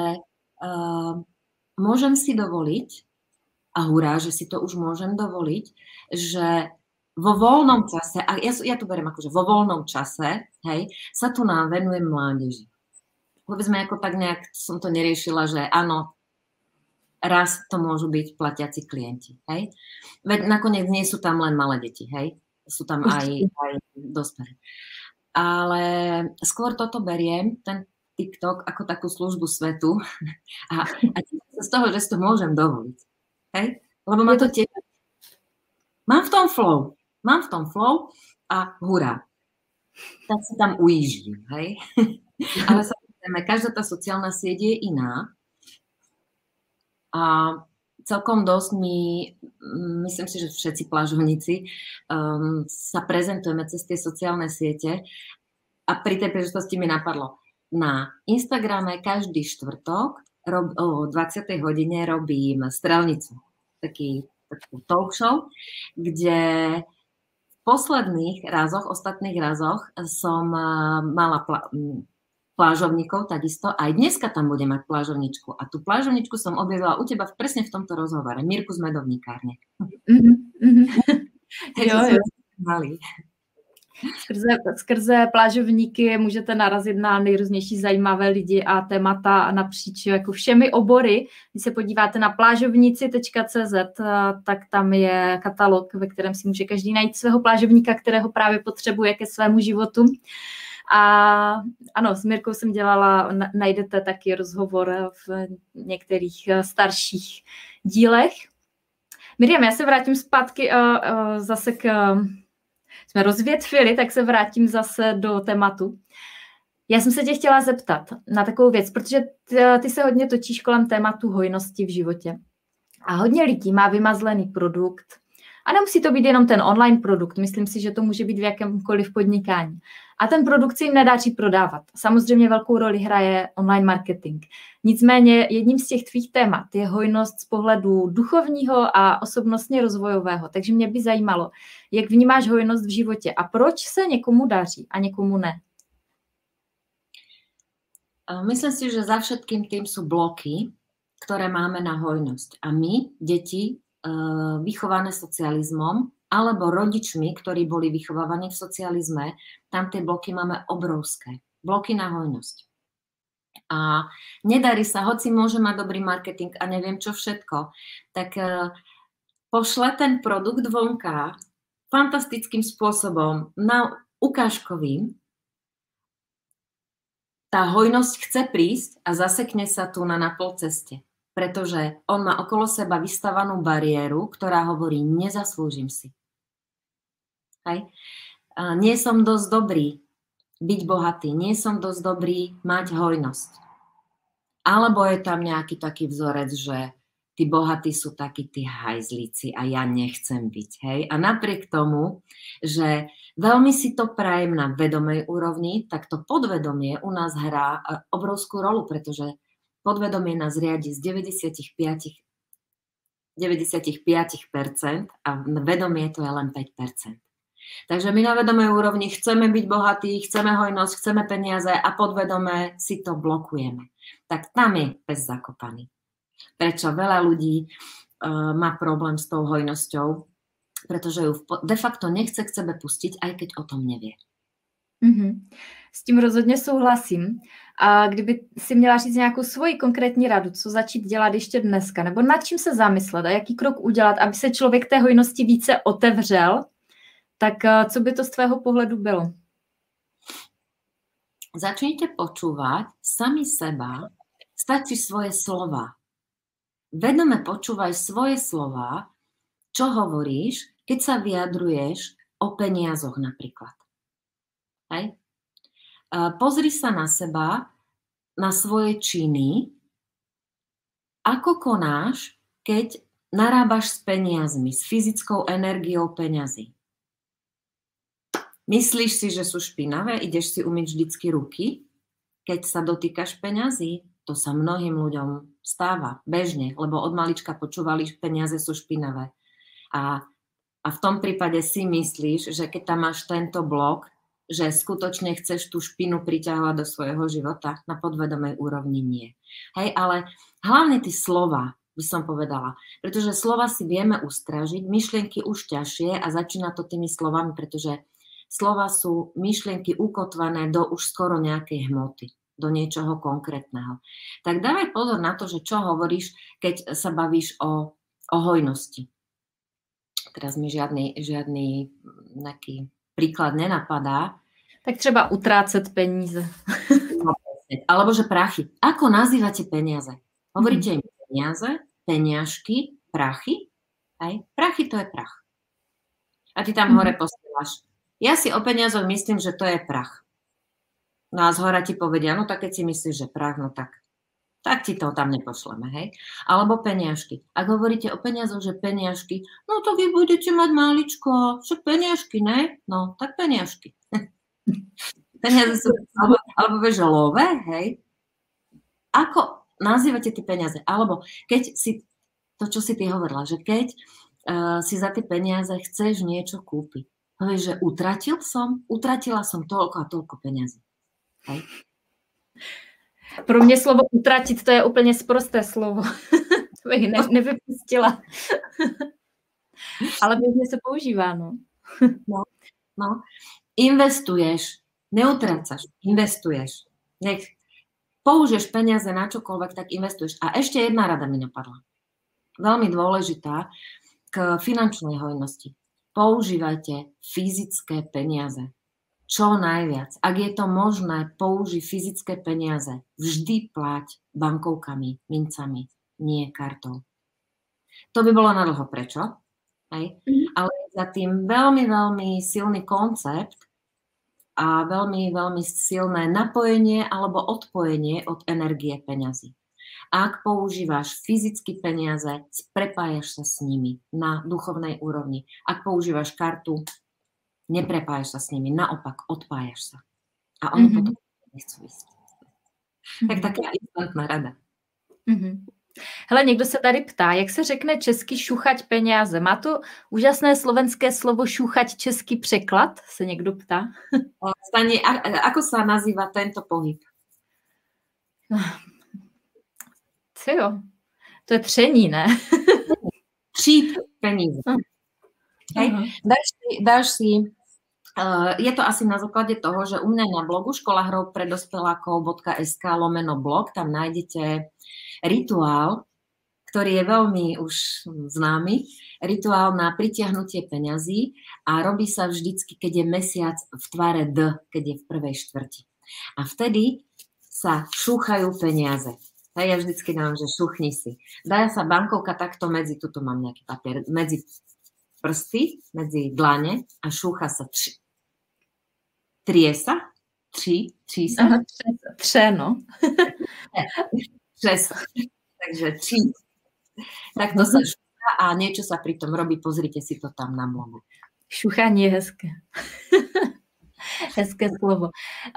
môžem si dovoliť, a hurá, že si to už môžem dovoliť, že vo voľnom čase, a ja to beriem akože vo voľnom čase, hej, sa tu nám venujem mládeži. Povedzme, ako tak nejak som to neriešila, že áno, raz to môžu byť platiaci klienti, hej. Veď nakoniec nie sú tam len malé deti, hej. Sú tam aj dospelí. Ale skôr toto beriem, ten TikTok, ako takú službu svetu a z toho, že si to môžem dovoliť, hej. Lebo ma to tiež... Mám v tom flow a hurá. Tak si tam ujíždím, hej. Ale samozrejme, každá tá sociálna sieť je iná. A celkom dosť myslím si, že všetci plážovníci sa prezentujeme cez tie sociálne siete a pri tej príležitosti mi napadlo, na Instagrame každý štvrtok o 20. hodine robím Strelnicu, takú talk show, kde v posledných razoch, ostatných razoch som mala plážovníkov, takisto. Aj dneska tam budem mať plážovničku. A tú plážovničku som objavila u teba presne v tomto rozhovore. Mirku z Medovníkárne. Jo. Skrze plážovníky můžete narazit na nejrůznější zajímavé lidi a témata napříč jako všemi obory. Když se podíváte na plážovníci.cz, tak tam je katalog, ve kterém si může každý najít svého plážovníka, kterého právě potřebuje ke svému životu. A ano, s Mirkou jsem dělala, najdete taky rozhovor v některých starších dílech. Miriam, já se vrátím zpátky zase jsme rozvětvili, tak se vrátím zase do tématu. Já jsem se tě chtěla zeptat na takovou věc, protože ty se hodně točíš kolem tématu hojnosti v životě. A hodně lidí má vymazlený produkt. A nemusí to být jenom ten online produkt, myslím si, že to může být v jakémkoliv podnikání. A ten produkt se jim nedaří prodávat. Samozřejmě velkou roli hraje online marketing. Nicméně jedním z těch tvých témat je hojnost z pohledu duchovního a osobnostně rozvojového. Takže mě by zajímalo, jak vnímáš hojnost v životě a proč se někomu daří a někomu ne? Myslím si, že za všetkým tým sú bloky, ktoré máme na hojnosť. A my, deti, vychované socializmom alebo rodičmi, ktorí boli vychovávaní v socializme, tam tie bloky máme obrovské. Bloky na hojnosť. A nedarí sa, hoci môže mať dobrý marketing a neviem čo všetko, tak pošle ten produkt vonka fantastickým spôsobom, ukážkovým, tá hojnosť chce prísť a zasekne sa tu na polceste, pretože on má okolo seba vystavanú bariéru, ktorá hovorí, nezaslúžim si. Hej? Nie som dosť dobrý byť bohatý, nie som dosť dobrý mať hojnosť. Alebo je tam nejaký taký vzorec, že tí bohatí sú takí tí hajzlíci a ja nechcem byť. Hej? A napriek tomu, že veľmi si to prajem na vedomej úrovni, tak to podvedomie u nás hrá obrovskú rolu, pretože podvedomie nás riadi z 95% a vedomie to je len 5%. Takže my na vedomej úrovni chceme byť bohatí, chceme hojnosť, chceme peniaze a podvedome si to blokujeme. Tak tam je pes zakopaný. Prečo veľa ľudí má problém s tou hojnosťou, pretože ju de facto nechce k sebe pustiť, aj keď o tom nevie. S tím rozhodně souhlasím. A kdyby si měla říct nějakou svoji konkrétní radu, co začít dělat ještě dneska, nebo nad čím se zamyslet a jaký krok udělat, aby se člověk té hojnosti více otevřel, tak co by to z tvého pohledu bylo? Začnite počúvať sami seba, stačí svoje slova. Vedome počúvaj svoje slova, čo hovoríš, keď sa vyjadruješ o peniazoch napríklad. Hej? Pozri sa na seba, na svoje činy, ako konáš, keď narábaš s peniazmi, s fyzickou energiou peňazí. Myslíš si, že sú špinavé? Ideš si umyť vždycky ruky, keď sa dotýkaš peňazí? To sa mnohým ľuďom stáva bežne, lebo od malička počúvali, že peniaze sú špinavé. A v tom prípade si myslíš, že keď tam máš tento blok, že skutočne chceš tú špinu priťahovať do svojho života, na podvedomej úrovni nie. Hej, ale hlavne tie slova, by som povedala, pretože slova si vieme ustražiť, myšlienky už ťažšie a začína to tými slovami, pretože slova sú myšlienky ukotvané do už skoro nejakej hmoty, do niečoho konkrétneho. Tak dávaj pozor na to, že čo hovoríš, keď sa bavíš o hojnosti. Teraz mi žiadny nejaký príklad nenapadá. Tak třeba utrácet peníze. Alebo že prachy. Ako nazývate peniaze? Hovoríte im peniaze, peniažky, prachy? Hej? Prachy to je prach. A ty tam hore posielaš. Ja si o peniazoch myslím, že to je prach. No a zhora ti povedia, no tak keď si myslíš, že prach, no tak ti to tam nepošleme, hej? Alebo peniažky. Ak hovoríte o peniazoch, že peniažky, no to vy budete mať máličko, však peniažky, ne? No, tak peniažky. Peniaze sú, alebo vieš, love, hej? Ako nazývate tie peniaze? Alebo keď si, to čo si ty hovorila, že keď si za tie peniaze chceš niečo kúpiť, povieš, že utratila som toľko a toľko peniazy. Hej? Pro mě slovo utratit, to je úplně sprosté slovo. To bych nevypustila. Ale běžně se používá, no. No. Investuješ, neutrácaš, investuješ. Nech použiješ peniaze na čokoľvek, tak investuješ. A ešte jedna rada mi napadla. Veľmi dôležitá k finančnej hojnosti. Používajte fyzické peniaze. Čo najviac. Ak je to možné, použij fyzické peniaze. Vždy plať bankovkami, mincami, nie kartou. To by bolo na dlho. Prečo? Hej? Ale za tým veľmi, veľmi silný koncept a veľmi, veľmi silné napojenie alebo odpojenie od energie peňazí. Ak používaš fyzicky peniaze, prepájaš sa s nimi na duchovnej úrovni. Ak používaš kartu, neprepájaš sa s nimi, naopak odpájaš sa. A oni potom nechcú ísť. Tak taká instantná rada. Hele, někdo se tady ptá, jak se řekne česky šuchať peníze. Má to úžasné slovenské slovo šuchať český překlad? Se někdo ptá. Stani, ako sa nazýva tento pohyb? Jo, to je tření, ne? Třít peníze. Dáš si je to asi na základe toho, že u mňa na blogu škola hrou pre dospelákov.sk/blog tam nájdete rituál, ktorý je veľmi už známy, rituál na pritiahnutie peňazí a robí sa vždycky, keď je mesiac v tvare D, keď je v prvej štvrti. A vtedy sa šúchajú peniaze. A ja vždycky dám, že šuchni si. Dá sa bankovka takto medzi, tuto mám nejaký papier, medzi prsty, medzi dlane a šúcha sa trie sa. Tří sa. Třeno. Třes. Takže tří. Takto sa šúcha a niečo sa pri tom robí. Pozrite si to tam na blogu. Šuchání je hezké. Hezké slovo.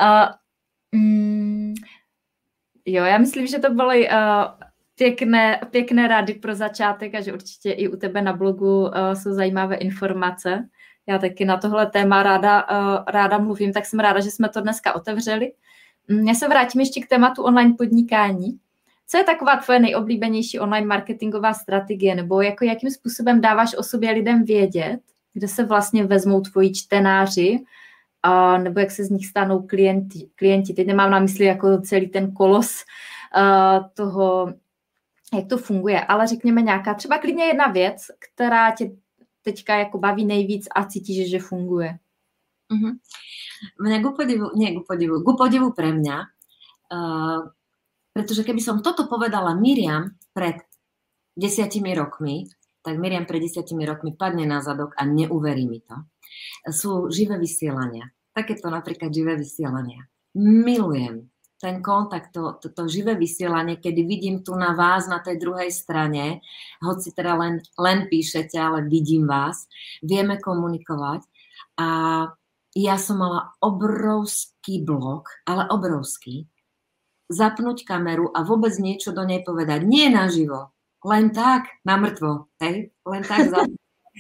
Jo, já myslím, že to byly pěkné rady pro začátek a že určitě i u tebe na blogu jsou zajímavé informace. Já taky na tohle téma ráda mluvím, tak jsem ráda, že jsme to dneska otevřeli. Já se vrátím ještě k tématu online podnikání. Co je taková tvoje nejoblíbenější online marketingová strategie, nebo jakým způsobem dáváš o sobě lidem vědět, kde se vlastně vezmou tvoji čtenáři, nebo jak se z nich stanou klienti. Teď nemám na mysli jako celý ten kolos toho, jak to funguje, ale řekněme nějaká, třeba klidně jedna věc, která tě teďka jako baví nejvíc a cítíš, že funguje. Mňa ku podivu pre mňa, pretože keby som toto povedala Miriam pred 10 rokmi, tak Miriam pred 10 rokmi padne na zadok a neuverí mi to. Sú živé vysielania. Takéto napríklad živé vysielania. Milujem ten kontakt, to živé vysielanie, kedy vidím tu na vás na tej druhej strane, hoci teda len píšete, ale vidím vás, vieme komunikovať. A ja som mala obrovský blok, ale obrovský, zapnúť kameru a vôbec niečo do nej povedať. Nie naživo, len tak, na mŕtvo, hej? Len tak zapnúť.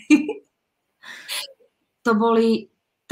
To boli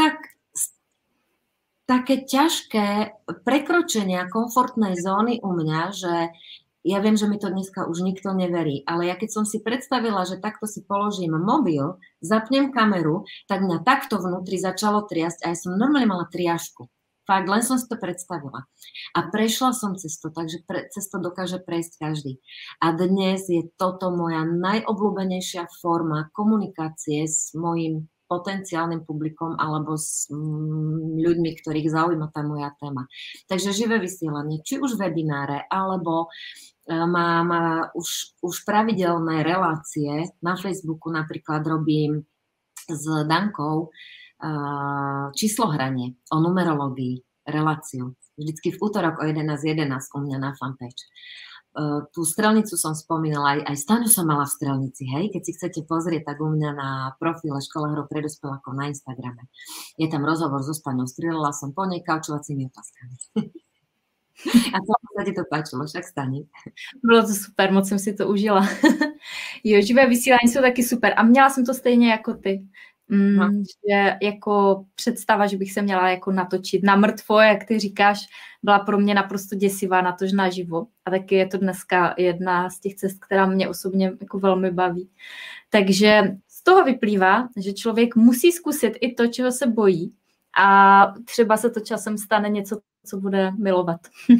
také ťažké prekročenia komfortnej zóny u mňa, že ja viem, že mi to dneska už nikto neverí, ale ja keď som si predstavila, že takto si položím mobil, zapnem kameru, tak mňa takto vnútri začalo triasť a ja som normálne mala triažku. Fakt, len som si to predstavila. A prešla som cez to, takže cez to dokáže prejsť každý. A dnes je toto moja najobľúbenejšia forma komunikácie s mojím potenciálnym publikom alebo s ľuďmi, ktorých zaujíma tá moja téma. Takže živé vysielanie, či už webináre, alebo mám už pravidelné relácie. Na Facebooku napríklad robím s Dankou číslohranie o numerológii, reláciu. Vždycky v útorok o 11:11 u mňa na fanpage. Tú strelnicu som spomínala, aj Staňu som mala v strelnici, hej, keď si chcete pozrieť, tak u mňa na profile Škola hrou pre dospelákov na Instagrame. Je tam rozhovor so Staňou, strieľala som po nej kaučovacími otázkami. A to sa ti to páčilo, však Stani. Bylo to super, moc jsem si to užila. Jo, živé vysílání jsou taky super a měla jsem to stejně jako ty. Že jako představa, že bych se měla jako natočit na mrtvo, jak ty říkáš, byla pro mě naprosto děsivá, natož naživo. A taky je to dneska jedna z těch cest, která mě osobně jako velmi baví. Takže z toho vyplývá, že člověk musí zkusit i to, čeho se bojí a třeba se to časem stane něco, co bude milovat.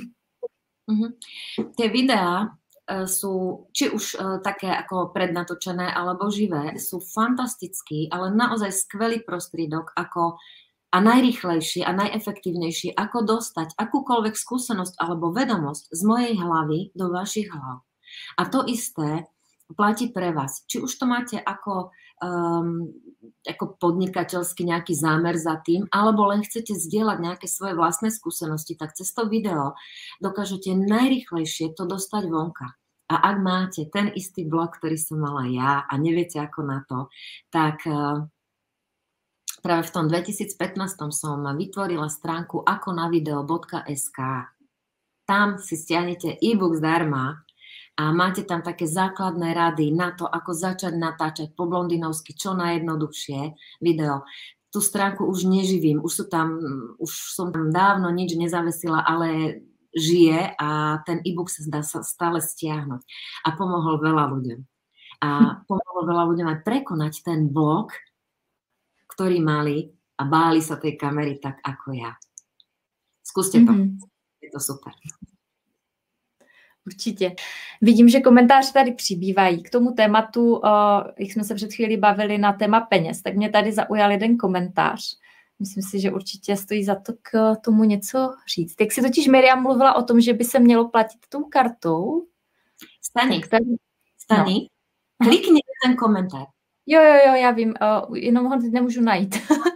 Tie videá sú či už také ako prednatočené alebo živé, sú fantastický, ale naozaj skvelý prostriedok a najrýchlejší a najefektívnejší, ako dostať akúkoľvek skúsenosť alebo vedomosť z mojej hlavy do vašich hlav. A to isté platí pre vás. Či už to máte ako podnikateľský nejaký zámer za tým, alebo len chcete zdieľať nejaké svoje vlastné skúsenosti, tak cez to video dokážete najrýchlejšie to dostať vonka. A ak máte ten istý blog, ktorý som mala ja a neviete ako na to, tak práve v tom 2015 som vytvorila stránku akonavideo.sk. Tam si stiahnete e-book zdarma a máte tam také základné rady na to, ako začať natáčať po blondinovsky čo najjednoduchšie video. Tú stránku už neživím, už som tam dávno nič nezavesila, ale žije a ten e-book sa dá stále stiahnuť. A pomohol veľa ľuďom. A pomohol veľa ľuďom aj prekonať ten blok, ktorý mali a báli sa tej kamery tak ako ja. Skúste to. Je to super. Určitě. Vidím, že komentáře tady přibývají. K tomu tématu, jak jsme se před chvílí bavili na téma peněz, tak mě tady zaujal jeden komentář. Myslím si, že určitě stojí za to k tomu něco říct. Jak si totiž Miriam mluvila o tom, že by se mělo platit tou kartou. Stani. No. Klikni ten komentář. Jo, já vím, jenom ho teď nemůžu najít.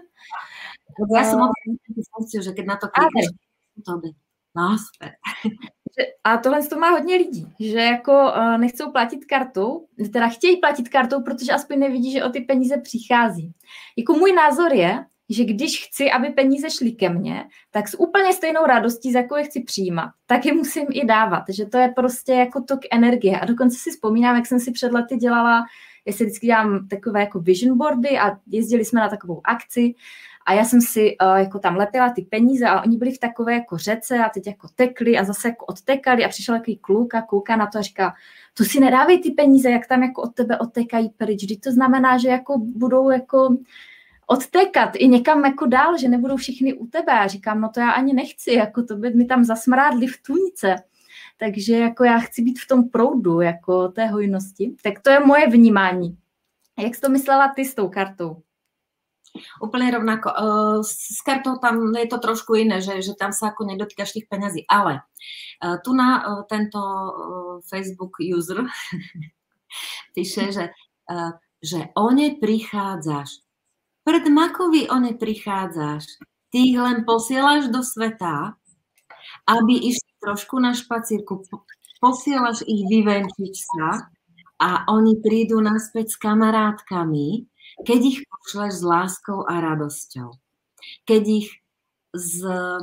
Já jsem funkciu, že keď na to klikneš, to by. No, super. A tohle to má hodně lidí, že jako nechcou platit kartou, teda chtějí platit kartou, protože aspoň nevidí, že o ty peníze přichází. Jako můj názor je, že když chci, aby peníze šly ke mně, tak s úplně stejnou radostí, za jakou je chci přijímat, tak je musím i dávat, že to je prostě jako tok energie. A dokonce si vzpomínám, jak jsem si před lety dělala, já si vždycky dělám takové jako vision boardy a jezdili jsme na takovou akci a já jsem si jako tam lepila ty peníze a oni byli v takové jako řece a teď jako tekli a zase jako odtekali a přišel takový kluk a kouká na to a říká, tu si nedávej ty peníze, jak tam jako od tebe odtekají pryč, vždyť to znamená, že jako budou jako odtékat i někam jako dál, že nebudou všichni u tebe. Já říkám, no to já ani nechci, jako to by mi tam zasmrádli v tůňce. Takže jako já chci být v tom proudu, jako té hojnosti. Tak to je moje vnímání. Jak jsi to myslela ty s tou kartou? Úplne rovnako. S kartou tam je to trošku iné, že tam sa ako nedotýkaš tých peňazí. Ale tu na tento Facebook user píše, že o ne prichádzaš. Pred makovi o ne prichádzaš. Ty ich len posielaš do sveta, aby išli trošku na špacírku. Posielaš ich vyvenčiť sa a oni prídu naspäť s kamarátkami, keď ich pošleš s láskou a radosťou. Keď ich s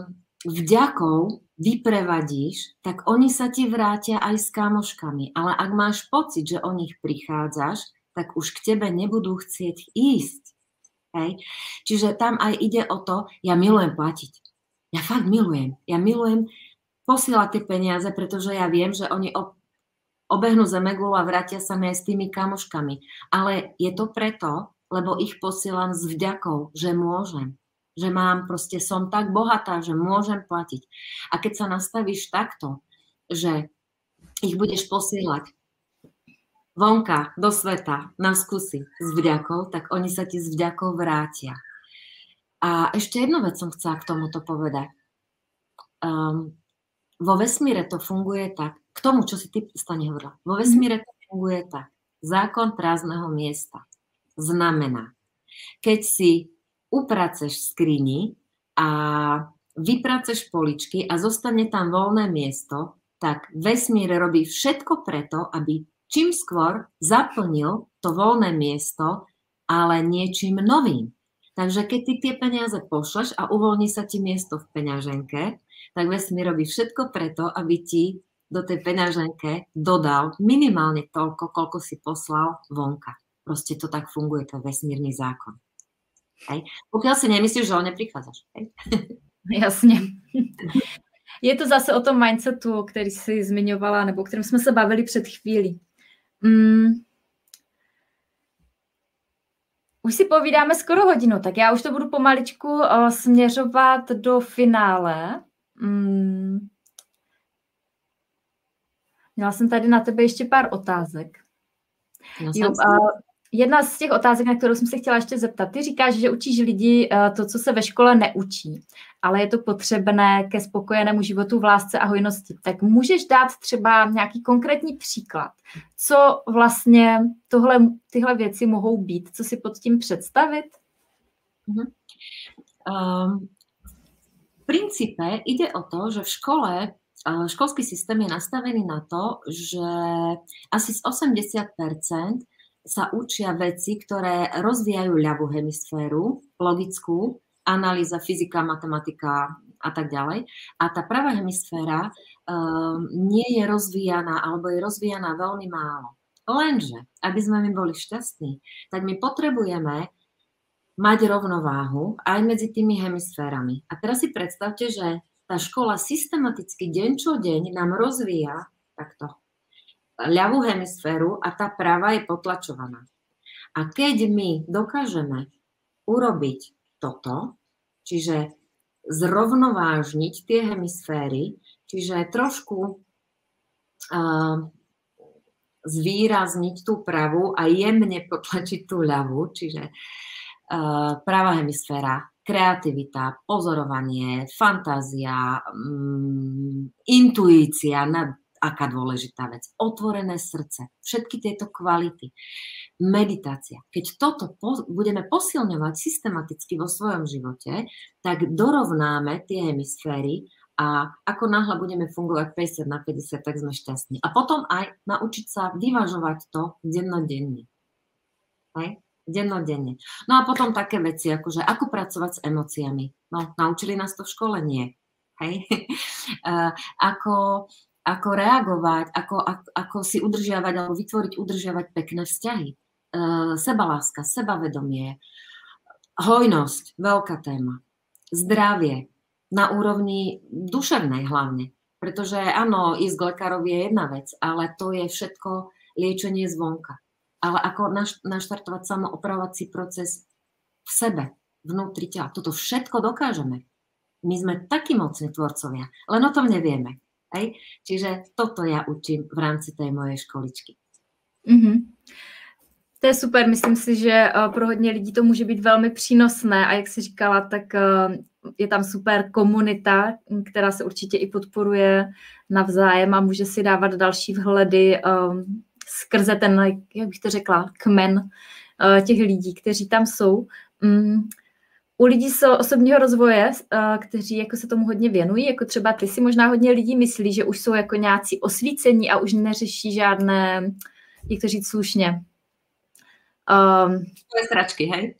vďakou vyprevadíš, tak oni sa ti vrátia aj s kamoškami. Ale ak máš pocit, že o nich prichádzaš, tak už k tebe nebudú chcieť ísť. Hej? Čiže tam aj ide o to, ja milujem platiť. Ja fakt milujem. Ja milujem posielať tie peniaze, pretože ja viem, že oni obehnú zemegulu a vrátia sa mi aj s tými kamoškami. Ale je to preto, lebo ich posielam s vďakou, že môžem. Že mám, proste som tak bohatá, že môžem platiť. A keď sa nastavíš takto, že ich budeš posielať vonka do sveta na skúsi s vďakou, tak oni sa ti s vďakou vrátia. A ešte jednu vec som chcela k tomuto povedať. Vo vesmíre to funguje tak, k tomu, čo si ty, Stani, hovorila, vo vesmíre to funguje tak. Zákon prázdneho miesta znamená, keď si upraceš v skrini a vypraceš poličky a zostane tam voľné miesto, tak vesmír robí všetko preto, aby čím skôr zaplnil to voľné miesto, ale niečím novým. Takže keď ty tie peniaze pošleš a uvoľní sa ti miesto v peňaženke, tak vesmír robí všetko preto, aby ti do tej peňaženke dodal minimálne toľko, koľko si poslal vonka. Proste to tak funguje, to je vesmírny zákon. Hej. Pokiaľ si nemyslíš, že ho neprichádzaš. Hej. Jasně. Je to zase o tom mindsetu, který jsi zmiňovala, nebo o kterém jsme se bavili před chvílí. Už si povídáme skoro hodinu, tak já už to budu pomaličku směřovat do finále. Měla jsem tady na tebe ještě pár otázek. Jedna z těch otázek, na kterou jsem se chtěla ještě zeptat, ty říkáš, že učíš lidi to, co se ve škole neučí, ale je to potřebné ke spokojenému životu v lásce a hojnosti. Tak můžeš dát třeba nějaký konkrétní příklad, co vlastně tyhle věci mohou být, co si pod tím představit? V princípe ide o to, že v škole školský systém je nastavený na to, že asi z 80% sa učia veci, ktoré rozvíjajú ľavú hemisféru, logickú, analýza, fyzika, matematika a tak ďalej. A tá pravá hemisféra nie je rozvíjaná, alebo je rozvíjaná veľmi málo. Lenže, aby sme my boli šťastní, tak my potrebujeme mať rovnováhu aj medzi tými hemisférami. A teraz si predstavte, že tá škola systematicky deň čo deň nám rozvíja takto ľavú hemisféru a tá pravá je potlačovaná. A keď my dokážeme urobiť toto, čiže zrovnovážniť tie hemisféry, čiže trošku zvýrazniť tú pravú a jemne potlačiť tú ľavú, čiže pravá hemisféra, kreativita, pozorovanie, fantázia, intuícia, aká dôležitá vec, otvorené srdce, všetky tieto kvality, meditácia. Keď toto budeme posilňovať systematicky vo svojom živote, tak dorovnáme tie hemisféry a ako náhle budeme fungovať 50/50, tak sme šťastní. A potom aj naučiť sa vyvažovať to dennodenne. Hej? Dennodenne. No a potom také veci, akože ako pracovať s emóciami. No, naučili nás to v škole? Nie. Hej? Ako reagovať, ako si udržiavať alebo udržiavať pekné vzťahy. Sebaláska, sebavedomie, hojnosť, veľká téma. Zdravie, na úrovni duševnej hlavne. Pretože áno, ísť k lekárovi je jedna vec, ale to je všetko liečenie zvonka. Ale ako naštartovať samoopravovací proces v sebe, vnútri tela. Toto všetko dokážeme. My sme takí mocní tvorcovia, len o tom nevieme. Hej? Čiže toto ja učím v rámci tej mojej školičky. To je super, myslím si, že pro hodně lidí to může být velmi přínosné a jak jsi říkala, tak je tam super komunita, která se určitě i podporuje navzájem a může si dávat další vhledy skrze ten, jak bych to řekla, kmen těch lidí, kteří tam jsou. U lidí z osobního rozvoje, kteří jako se tomu hodně věnují, jako třeba ty si možná hodně lidí myslí, že už jsou jako nějací osvícení a už neřeší žádné, jak to říct slušně. To je sračky, hej?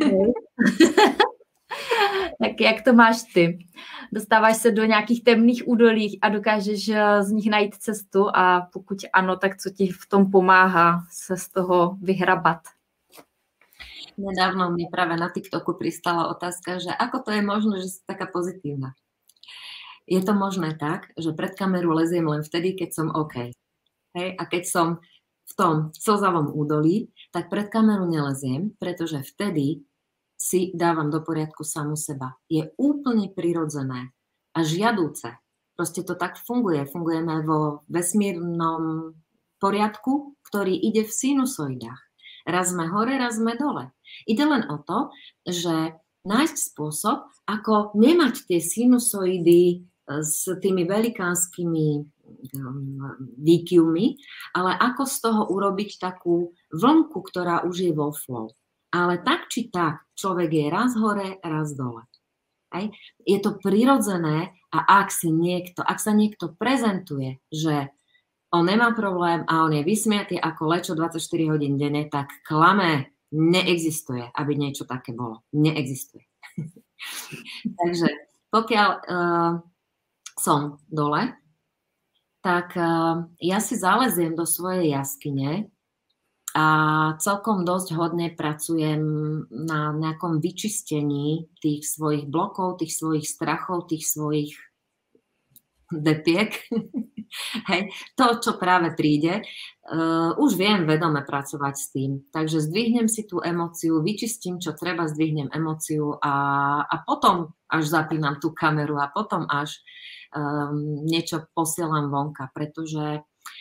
Tak jak to máš ty? Dostáváš se do nějakých temných údolí a dokážeš z nich najít cestu a pokud ano, tak co ti v tom pomáhá se z toho vyhrabat? Nedávno mi práve na TikToku pristala otázka, že ako to je možné, že si taká pozitívna. Je to možné tak, že pred kameru leziem len vtedy, keď som OK. Hej? A keď som v tom slzavom údolí, tak pred kameru neleziem, pretože vtedy si dávam do poriadku samu seba. Je úplne prirodzené a žiadúce. Proste to tak funguje. Fungujeme vo vesmírnom poriadku, ktorý ide v sinusoidách. Raz sme hore, raz sme dole. Ide len o to, že nájsť spôsob, ako nemať tie sinusoidy s tými velikánskymi výkyvmi, ale ako z toho urobiť takú vlnku, ktorá už je vo flow. Ale tak či tak, človek je raz hore, raz dole. Hej. Je to prirodzené a ak sa niekto prezentuje, že on nemá problém a on je vysmiatý ako lečo 24 hodín denne, tak klame, neexistuje, aby niečo také bolo. Neexistuje. Takže pokiaľ som dole, tak ja si zaleziem do svojej jaskyne a celkom dosť hodne pracujem na nejakom vyčistení tých svojich blokov, tých svojich strachov, tých svojich depiek. Hej. To, čo práve príde, už viem vedome pracovať s tým. Takže zdvihnem si tú emóciu, vyčistím, čo treba, zdvihnem emóciu a potom až zapínam tú kameru a potom až niečo posielam vonka, pretože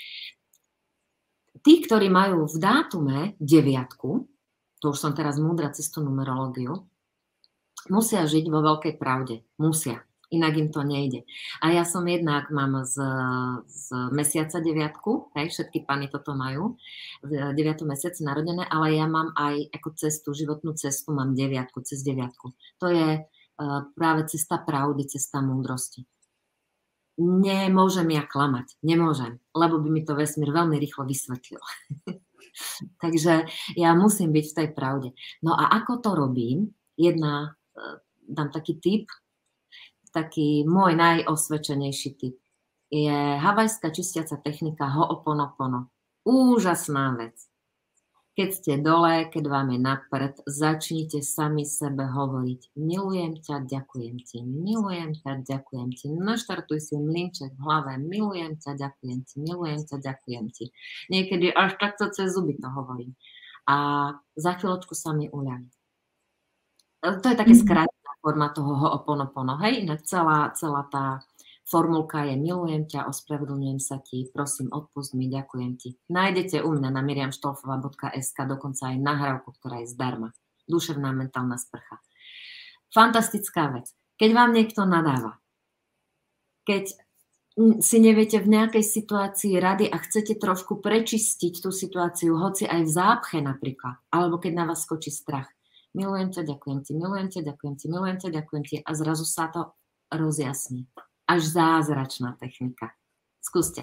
tí, ktorí majú v dátume 9, to už som teraz múdra cez tú numerológiu, musia žiť vo veľkej pravde. Musia. Inak im to nejde. A ja som jednak, mám z mesiaca 9, hej, všetky pány toto majú, v 9. mesiaci narodené, ale ja mám aj ako cestu, životnú cestu, mám 9, cez 9. To je práve cesta pravdy, cesta múdrosti. Nemôžem ja klamať, nemôžem, lebo by mi to vesmír veľmi rýchlo vysvetlil. Takže ja musím byť v tej pravde. No a ako to robím? Dám taký tip, taký môj najosvedčenejší tip. Je havajská čistiaca technika Ho'oponopono. Úžasná vec. Keď ste dole, keď vám je na prd, začnite sami sebe hovoriť. Milujem ťa, ďakujem ti. Milujem ťa, ďakujem ti. Naštartuj si mlynček v hlave. Milujem ťa, ďakujem ti. Milujem ťa, ďakujem ti. Niekedy až takto cez zuby to hovorím. A za chvíľočku sa mi uľaví. To je také skrátená forma toho Ho'oponopono. Hej, inak celá tá Formulka je milujem ťa, ospravedlňujem sa ti, prosím, odpust mi, ďakujem ti. Nájdete u mňa na miriamštolfová.sk dokonca aj nahrávku, ktorá je zdarma. Duševná mentálna sprcha. Fantastická vec. Keď vám niekto nadáva, keď si neviete v nejakej situácii rady a chcete trošku prečistiť tú situáciu, hoci aj v zápche napríklad, alebo keď na vás skočí strach. Milujem ťa, ďakujem ti, milujem ťa, ďakujem ti, milujem ťa, ďakujem ti a zrazu sa to rozjasní. Až zázračná technika. Skúste.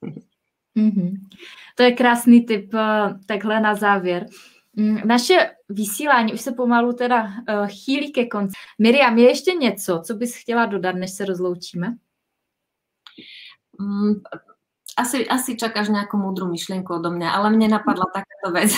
To je krásný tip takhle na závěr. Naše vysílání už se pomalu teda chýlí ke konci. Miriam, je ještě něco, co bys chtěla dodat, než se rozloučíme? Asi čakáš nejakú múdru myšlienku odo mňa, ale mne napadla takáto vec,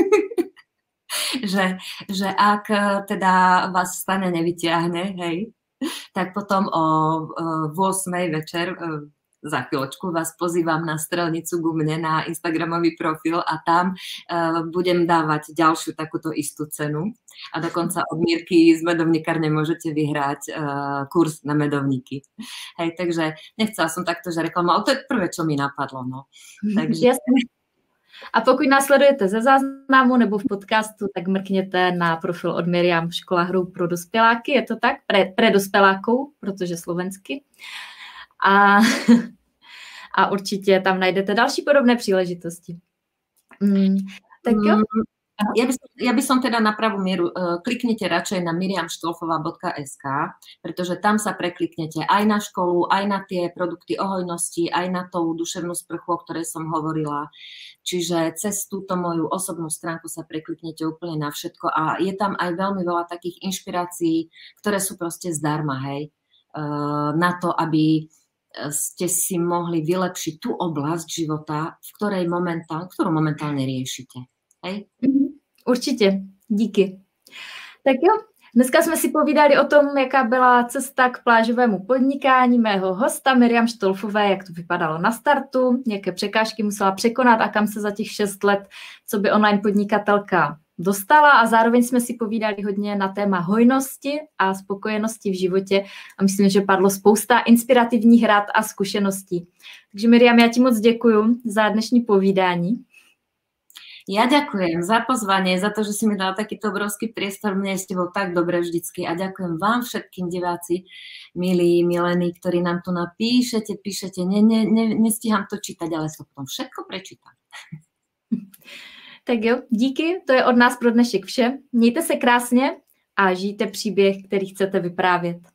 že ak teda vás stane nevyťahne, hej, tak potom o 8:00 večer za chvíľočku vás pozývam na strelnicu ku mne na Instagramový profil a tam budem dávať ďalšiu takúto istú cenu a dokonca od Mírky z medovníkárne môžete vyhrať kurz na medovníky. Hej, takže nechcela som takto, že reklamu, ale to je prvé, čo mi napadlo. No. Takže... A pokud následujete ze záznamu nebo v podcastu, tak mrkněte na profil od Miriam Škola hru pro dospěláky, je to tak? Pre dospěláků, protože slovensky. A určitě tam najdete další podobné příležitosti. Tak jo. Ja by som teda na pravú mieru, kliknite radšej na miriamštolfová.sk, pretože tam sa prekliknete aj na školu, aj na tie produkty o hojnosti, aj na tú duševnú sprchu, o ktorej som hovorila. Čiže cez túto moju osobnú stránku sa prekliknete úplne na všetko a je tam aj veľmi veľa takých inšpirácií, ktoré sú proste zdarma, hej, na to, aby ste si mohli vylepšiť tú oblasť života, ktorú momentálne riešite. Hej? Určitě, díky. Tak jo, dneska jsme si povídali o tom, jaká byla cesta k plážovému podnikání mého hosta Miriam Štolfové, jak to vypadalo na startu, jaké překážky musela překonat a kam se za těch 6 let, co by online podnikatelka dostala a zároveň jsme si povídali hodně na téma hojnosti a spokojenosti v životě a myslím, že padlo spousta inspirativních rad a zkušeností. Takže Miriam, já ti moc děkuju za dnešní povídání. Ja ďakujem za pozvanie, za to, že si mi dala takýto obrovský priestor. Mne je s tebou tak dobre vždycky a ďakujem vám všetkým diváci, milí, milení, ktorí nám tu napíšete, nestíham to čítať, ale sa potom všetko prečítam. Tak jo, díky, to je od nás pro dnešek vše. Mějte se krásně a žijte příběh, který chcete vyprávět.